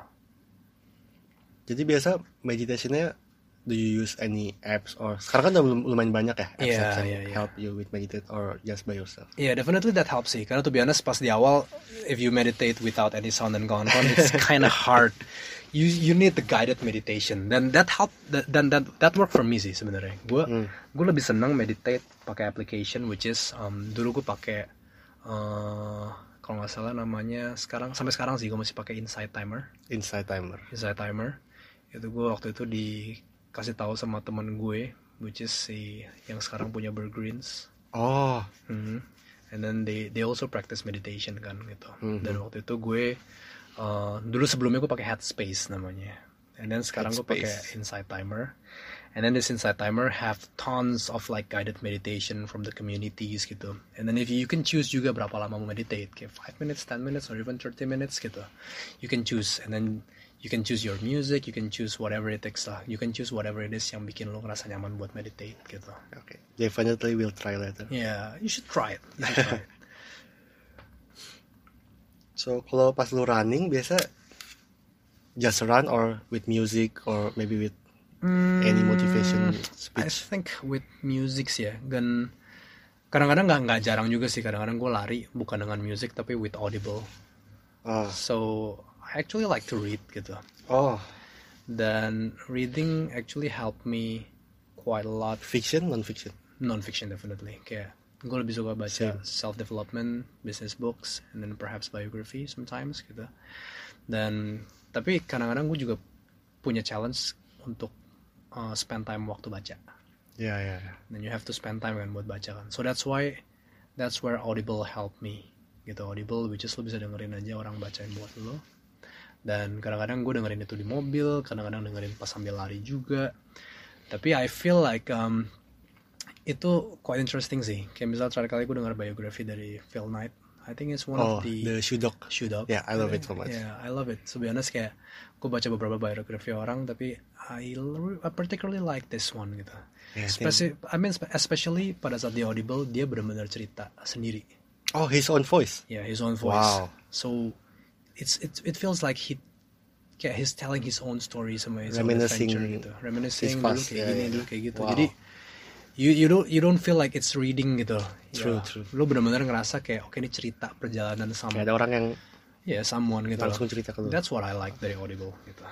Jadi biasa meditationnya, do you use any apps or sekarang kan udah lumayan banyak ya apps Yeah, apps yang yeah, yeah. help you with meditate or just by yourself? Yeah, definitely that helps sih. Karena to be honest, pas di awal, if you meditate without any sound and kawan-kawan, it's kind of hard. You you need the guided meditation. Dan that help, that dan that, that work for me sih sebenarnya. Gue Hmm. gue lebih senang meditate pakai application, which is um, dulu gue pakai uh, kalau nggak salah namanya sekarang sampai sekarang sih gue masih pakai Insight Timer. Insight Timer. Insight Timer. Itu gue waktu itu dikasih tahu sama teman gue, which is si yang sekarang punya Burgreens. Oh. Mhm. And then they they also practice meditation kan gitu. Mhm. Dan waktu itu gue uh, dulu sebelumnya gue pakai Headspace namanya. And then sekarang gue pakai Headspace. Insight Timer. And then this Insight Timer have tons of like guided meditation from the communities gitu. And then if you, you can choose juga berapa lama mau meditate, kayak five minutes, ten minutes, or even thirty minutes gitu. You can choose, and then you can choose your music, you can choose whatever it takes lah. You can choose whatever it is yang bikin lo ngerasa nyaman buat meditate gitu. Okay. Definitely will try later. Yeah, you should try it. You should try it. So kalau pas lu running biasa just run or with music or maybe with any motivation I speech? think with music sih ya. Dan kadang-kadang nggak nggak jarang juga sih. Kadang-kadang gue lari bukan dengan music tapi with audible. Oh. So I actually like to read gitu. Oh. Dan reading actually helped me quite a lot. Fiction, non-fiction? Non-fiction definitely. Kayak gue lebih suka baca Same. self-development, business books, and then perhaps biography sometimes gitu. Dan tapi kadang-kadang gue juga punya challenge untuk uh, spend time waktu baca. Ya, ya, ya. Then you have to spend time kan buat baca kan. So that's why that's where Audible helped me gitu. Audible which is lo bisa dengerin aja orang bacain buat lo. Dan kadang-kadang gue dengerin itu di mobil, kadang-kadang dengerin pas sambil lari juga. Tapi I feel like um, itu quite interesting sih. Kayak misalnya terakhir kali gue denger biografi dari Phil Knight. I think it's one Oh, of the the Shoe Dog. Shoe Dog. Yeah, I love it so much. Yeah, I love it. To be honest kayak gue baca beberapa biografi orang, tapi I, I particularly like this one gitu. Yeah, I think- Spesi- I mean especially pada saat di Audible dia benar-benar cerita sendiri. Oh, his own voice. Yeah, his own voice. Wow. So it's it it feels like he kayak he's telling his own story sama his own Reminiscing adventure gitu. Reminiscing his dulu past, kayak yeah, gini yeah. dulu kayak gitu. Wow. Jadi you you don't you don't feel like it's reading gitu. True, Ya, true. Lu benar-benar ngerasa kayak oke ini cerita perjalanan sama Kayak ada orang yang ya someone gitu. langsung loh. cerita ke lu. That's what I like dari Audible gitu.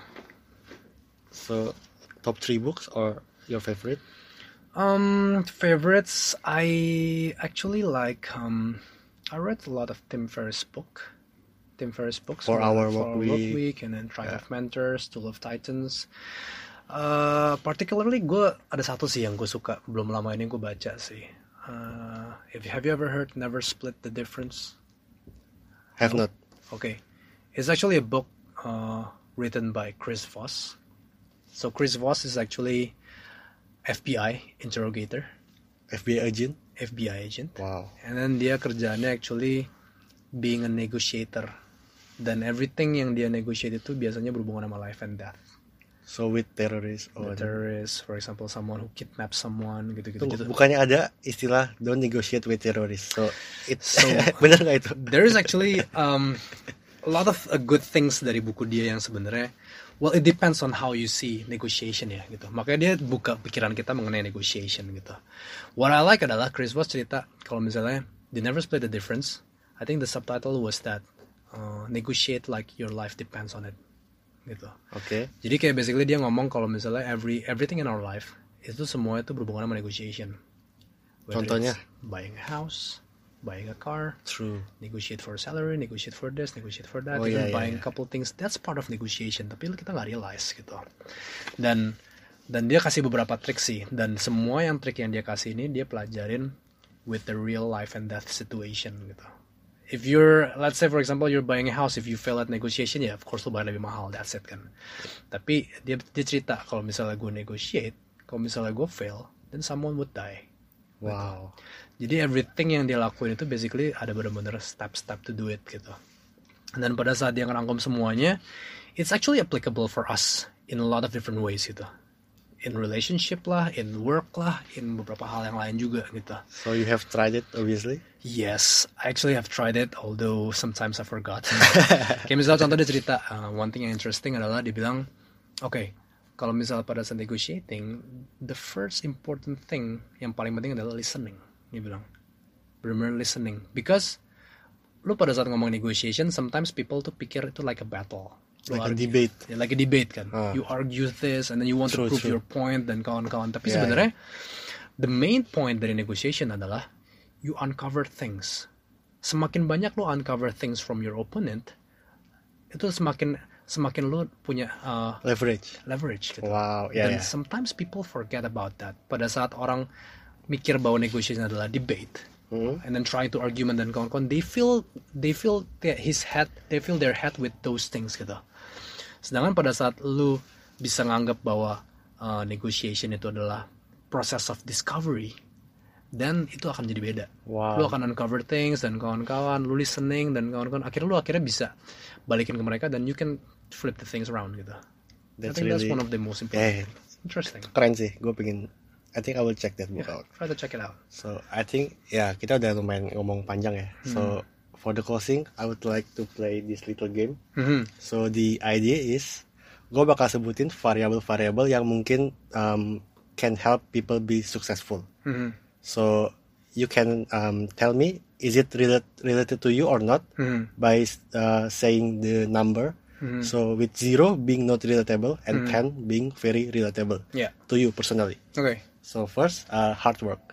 So, top three books or your favorite? Um, favorites, I actually like, um, I read a lot of Tim Ferriss book. Tim Ferriss books. For Our for Work Our Work Week. Week, and then Tribe Yeah. of Mentors, Tool of Titans. Uh, particularly gue ada satu sih yang gue suka belum lama ini gue baca sih. Uh, if have you ever heard Never Split the Difference? Have not. Okay, it's actually a book uh, written by Chris Voss. So Chris Voss is actually F B I interrogator, F B I agent? F B I agent. Wow. And then dia kerjaannya actually being a negotiator. Dan everything yang dia negotiate itu biasanya berhubungan sama life and death. So with terrorists or The terrorists, for example, someone who kidnaps someone gitu-gitu. Tunggu, gitu. bukannya ada istilah don't negotiate with terrorists. So it So benar nggak itu? there is actually um, a lot of uh, good things dari buku dia yang sebenarnya, well, it depends on how you see negotiation ya gitu. Makanya dia buka pikiran kita mengenai negotiation gitu. What I like adalah Chris Voss cerita kalau misalnya they never split the difference. I think the subtitle was that uh, negotiate like your life depends on it gitu. Oke. Okay. Jadi kayak basically dia ngomong kalau misalnya every everything in our life itu semua itu berhubungan sama negotiation. Whether Contohnya buying a house, buying a car, true. Negotiate for salary, negotiate for this, negotiate for that, oh, even yeah, buying yeah, a couple things, that's part of negotiation. Tapi kita nggak realize gitu. Dan dan dia kasih beberapa trik sih. Dan semua yang trik yang dia kasih ini dia pelajarin with the real life and death situation gitu. If you're, let's say for example you're buying a house, if you fail at negotiation, ya yeah, of course lo bayar lebih mahal, that's it kan. Tapi dia dia cerita kalau misalnya gue negotiate, kalau misalnya gue fail, then someone would die. Wow. Gitu. Jadi everything yang dia lakuin itu basically ada benar-benar step-step to do it gitu. Dan pada saat dia ngerangkum semuanya, it's actually applicable for us in a lot of different ways gitu. In relationship lah, in work lah, in beberapa hal yang lain juga gitu. So you have tried it obviously? Yes, I actually have tried it, although sometimes I forgot. Kayak misalnya contoh dia cerita, uh, one thing yang interesting adalah dia bilang, oke, okay, kalau misalnya pada saat negotiating, the first important thing yang paling penting adalah listening. Dia bilang, benar-benar listening. Because lu pada saat ngomong negotiation, sometimes people tuh pikir itu like a battle. Lu like argue, a debate. Ya, like a debate kan. Uh. You argue this and then you want True, to prove true. your point dan kawan-kawan. Tapi Yeah, sebenarnya the main point dari negotiation adalah you uncover things. Semakin banyak lu uncover things from your opponent, itu semakin semakin lu punya uh, leverage. Leverage gitu. Wow, yeah, Dan yeah. sometimes people forget about that. Pada saat orang mikir bahwa negotiation adalah debate, Hmm. and then trying to argument dan kawan-kawan, they feel they feel his head, they feel their head with those things gitu. Sedangkan pada saat lu bisa nganggap bahwa uh, negotiation itu adalah process of discovery, dan itu akan jadi beda. Wow. Lu akan uncover things dan kawan-kawan, lu listening dan kawan-kawan, akhirnya lu akhirnya bisa balikin ke mereka dan you can flip the things around gitu. That's I think really, that's one of the most important. Yeah. Interesting. Keren sih, gue pengen. I think I will check that book Yeah, out. try to check it out. So I think ya kita udah lumayan ngomong panjang ya. Hmm. So for the closing, I would like to play this little game. Mm-hmm. So the idea is, gue bakal sebutin variabel-variabel yang mungkin um, can help people be successful. Mm-hmm. So you can um, tell me, is it relate, related to you or not, Mm-hmm. by uh, saying the number. Mm-hmm. So with zero being not relatable and Mm-hmm. ten being very relatable Yeah. to you personally. Okay. So first, uh, hard work.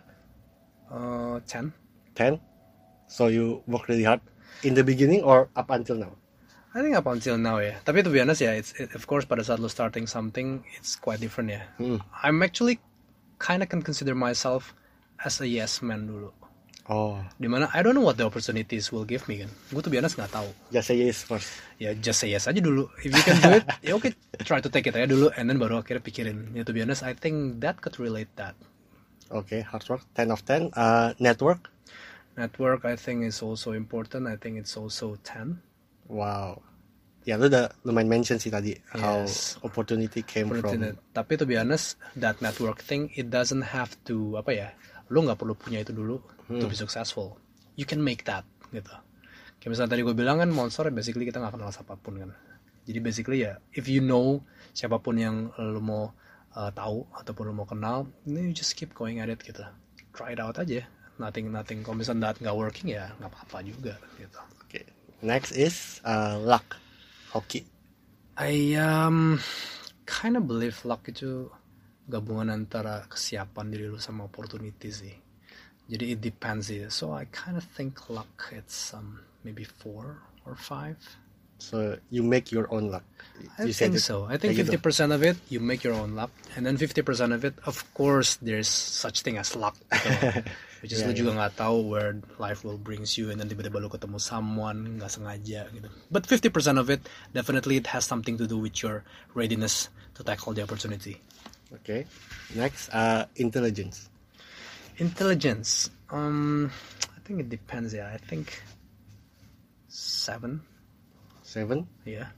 Uh, ten. ten. So you work really hard in the beginning or up until now? I think up until now ya. Tapi to be honest ya, it's it, of course pada saat lo starting something, it's quite different ya. Hmm. I'm actually kind of can consider myself as a yes man dulu. Oh, Dimana I don't know what the opportunities will give me kan. Gue to be honest nggak tahu. just say yes first. Ya just say yes aja dulu. If you can do it, ya oke, try to take it aja dulu, and then baru akhirnya pikirin. Ya to be honest, I think that could relate that. Okay, hard work. ten of ten. Uh, network. Network I think is also important. I think it's also ten. Wow. Ya, lu udah lumayan mention sih tadi how Yes. opportunity came Opportunity. from. Tapi to be honest, that network thing, it doesn't have to apa ya? Lu nggak perlu punya itu dulu Hmm. to be successful. You can make that gitu. Kayak misalnya tadi gue bilang kan, Monster basically kita nggak kenal siapapun kan. Jadi basically ya, if you know siapapun yang lu mau uh, tahu ataupun lu mau kenal, then you just keep going at it gitu. Try it out aja. Nothing, nothing. Kalau misalnya that nggak working ya nggak apa-apa juga gitu. Okay. Next is uh, luck. Hoki. I um kind of believe luck itu gabungan antara kesiapan diri lu sama opportunity sih. Jadi it depends sih. So I kind of think luck it's um maybe four or five. So you make your own luck. I You said think it. so. I think Kayak fifty gitu. percent of it you make your own luck, and then fifty percent of it, of course, there's such thing as luck. Gitu. Which is Yeah, lu juga nggak tahu where life will brings you, and then tiba-tiba lu ketemu someone nggak sengaja gitu. But fifty percent of it definitely it has something to do with your readiness to tackle the opportunity. Okay. Next, uh, intelligence. Intelligence. Um, I think it depends. Yeah, I think seven. Seven. Yeah.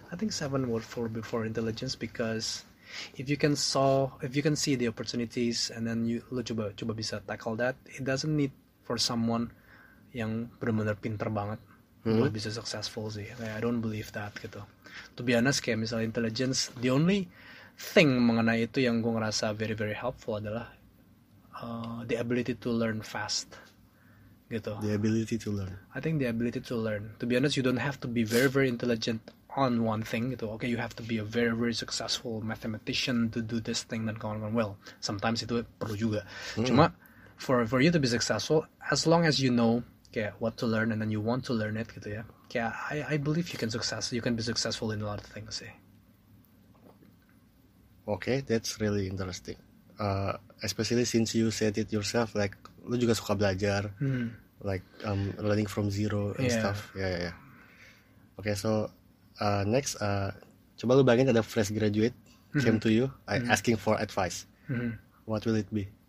I think seven would fall before intelligence because if you can saw, if you can see the opportunities and then you lu coba coba bisa tackle that, it doesn't need for someone yang benar-benar pinter banget hmm. buat bisa successful sih. I don't believe that gitu. To be honest, kayak misalnya intelligence, the only thing mengenai itu yang gue ngerasa very very helpful adalah uh, the ability to learn fast. Gitu. The ability to learn. I think the ability to learn. To be honest, you don't have to be very very intelligent on one thing gitu. Okay, you have to be a very very successful mathematician to do this thing dan kawan-kawan. Well, sometimes itu perlu juga. Mm. Cuma for for you to be successful, as long as you know kayak what to learn and then you want to learn it gitu ya. Kayak I I believe you can success. You can be successful in a lot of things sih. Okay, that's really interesting. Uh, especially since you said it yourself, like lu juga suka belajar, hmm. like um, learning from zero and yeah. stuff. Yeah, yeah, yeah. Okay, so uh, next, uh, coba lu bayangin ada fresh graduate mm-hmm. came to you, uh, mm-hmm. asking for advice. Mm-hmm. What will it be?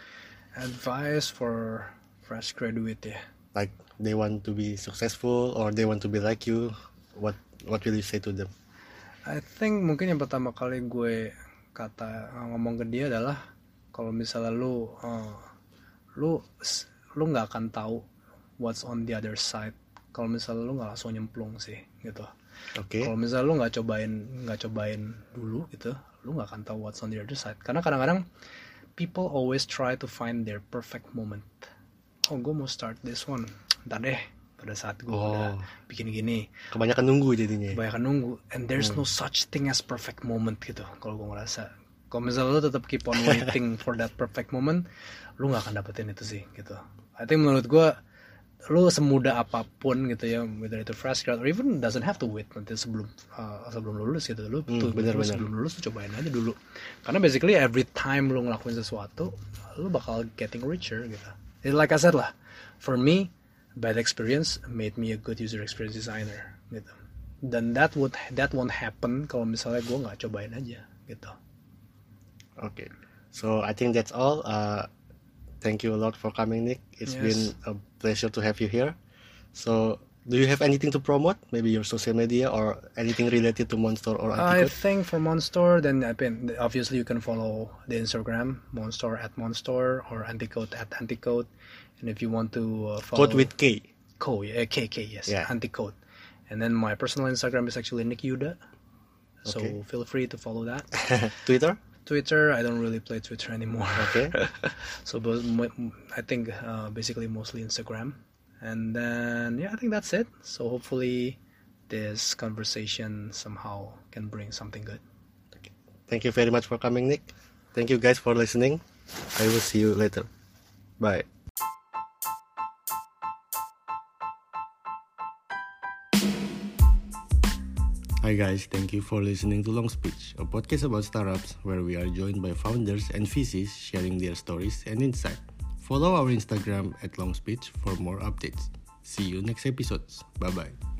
Advice for fresh graduate ya. Like they want to be successful or they want to be like you. What What will you say to them? I think mungkin yang pertama kali gue kata ngomong ke dia adalah kalau misalnya lu uh, lu lu nggak akan tahu what's on the other side kalau misalnya lu nggak langsung nyemplung sih gitu. Okay. Kalau misalnya lu nggak cobain nggak cobain dulu gitu, lu nggak akan tahu what's on the other side. Karena kadang-kadang people always try to find their perfect moment. Oh, gue mau start this one, ntar deh pada saat gue oh. udah bikin gini. Kebanyakan nunggu jadinya. Kebanyakan nunggu, and there's hmm. no such thing as perfect moment gitu. Kalau gue ngerasa, kalau misalnya lu tetap keep on waiting for that perfect moment, lu nggak akan dapetin itu sih gitu. I think menurut gue, lu semudah apapun gitu ya, whether itu fresh grad or even doesn't have to wait nanti sebelum uh, sebelum lulus gitu, lu hmm, tuh bener, lu bener. sebelum lulus lu cobain aja dulu. Karena basically every time lu ngelakuin sesuatu, lu bakal getting richer gitu. It's like I said lah, for me, bad experience made me a good user experience designer gitu. Dan that would that won't happen kalau misalnya gue nggak cobain aja gitu. Okay, so I think that's all. Uh, thank you a lot for coming, Nick. It's yes. been a pleasure to have you here. So, do you have anything to promote? Maybe your social media or anything related to Monster or Anticode? I think for Monster, then obviously you can follow the Instagram, Monster at Monster or Anticode at Anticode. And if you want to uh, follow... Code with K. Co, yeah, K, K, yes, yeah. Anticode. And then my personal Instagram is actually Nick Yuda. So okay. feel free to follow that. Twitter? Twitter, I don't really play Twitter anymore. Okay. So I think uh, basically mostly Instagram. And then, yeah, I think that's it. So hopefully this conversation somehow can bring something good. Okay. Thank you very much for coming, Nick. Thank you guys for listening. I will see you later. Bye. Hi guys, thank you for listening to Long Speech, a podcast about startups where we are joined by founders and V Cs sharing their stories and insight. Follow our Instagram at Long Speech for more updates. See you next episodes. Bye bye.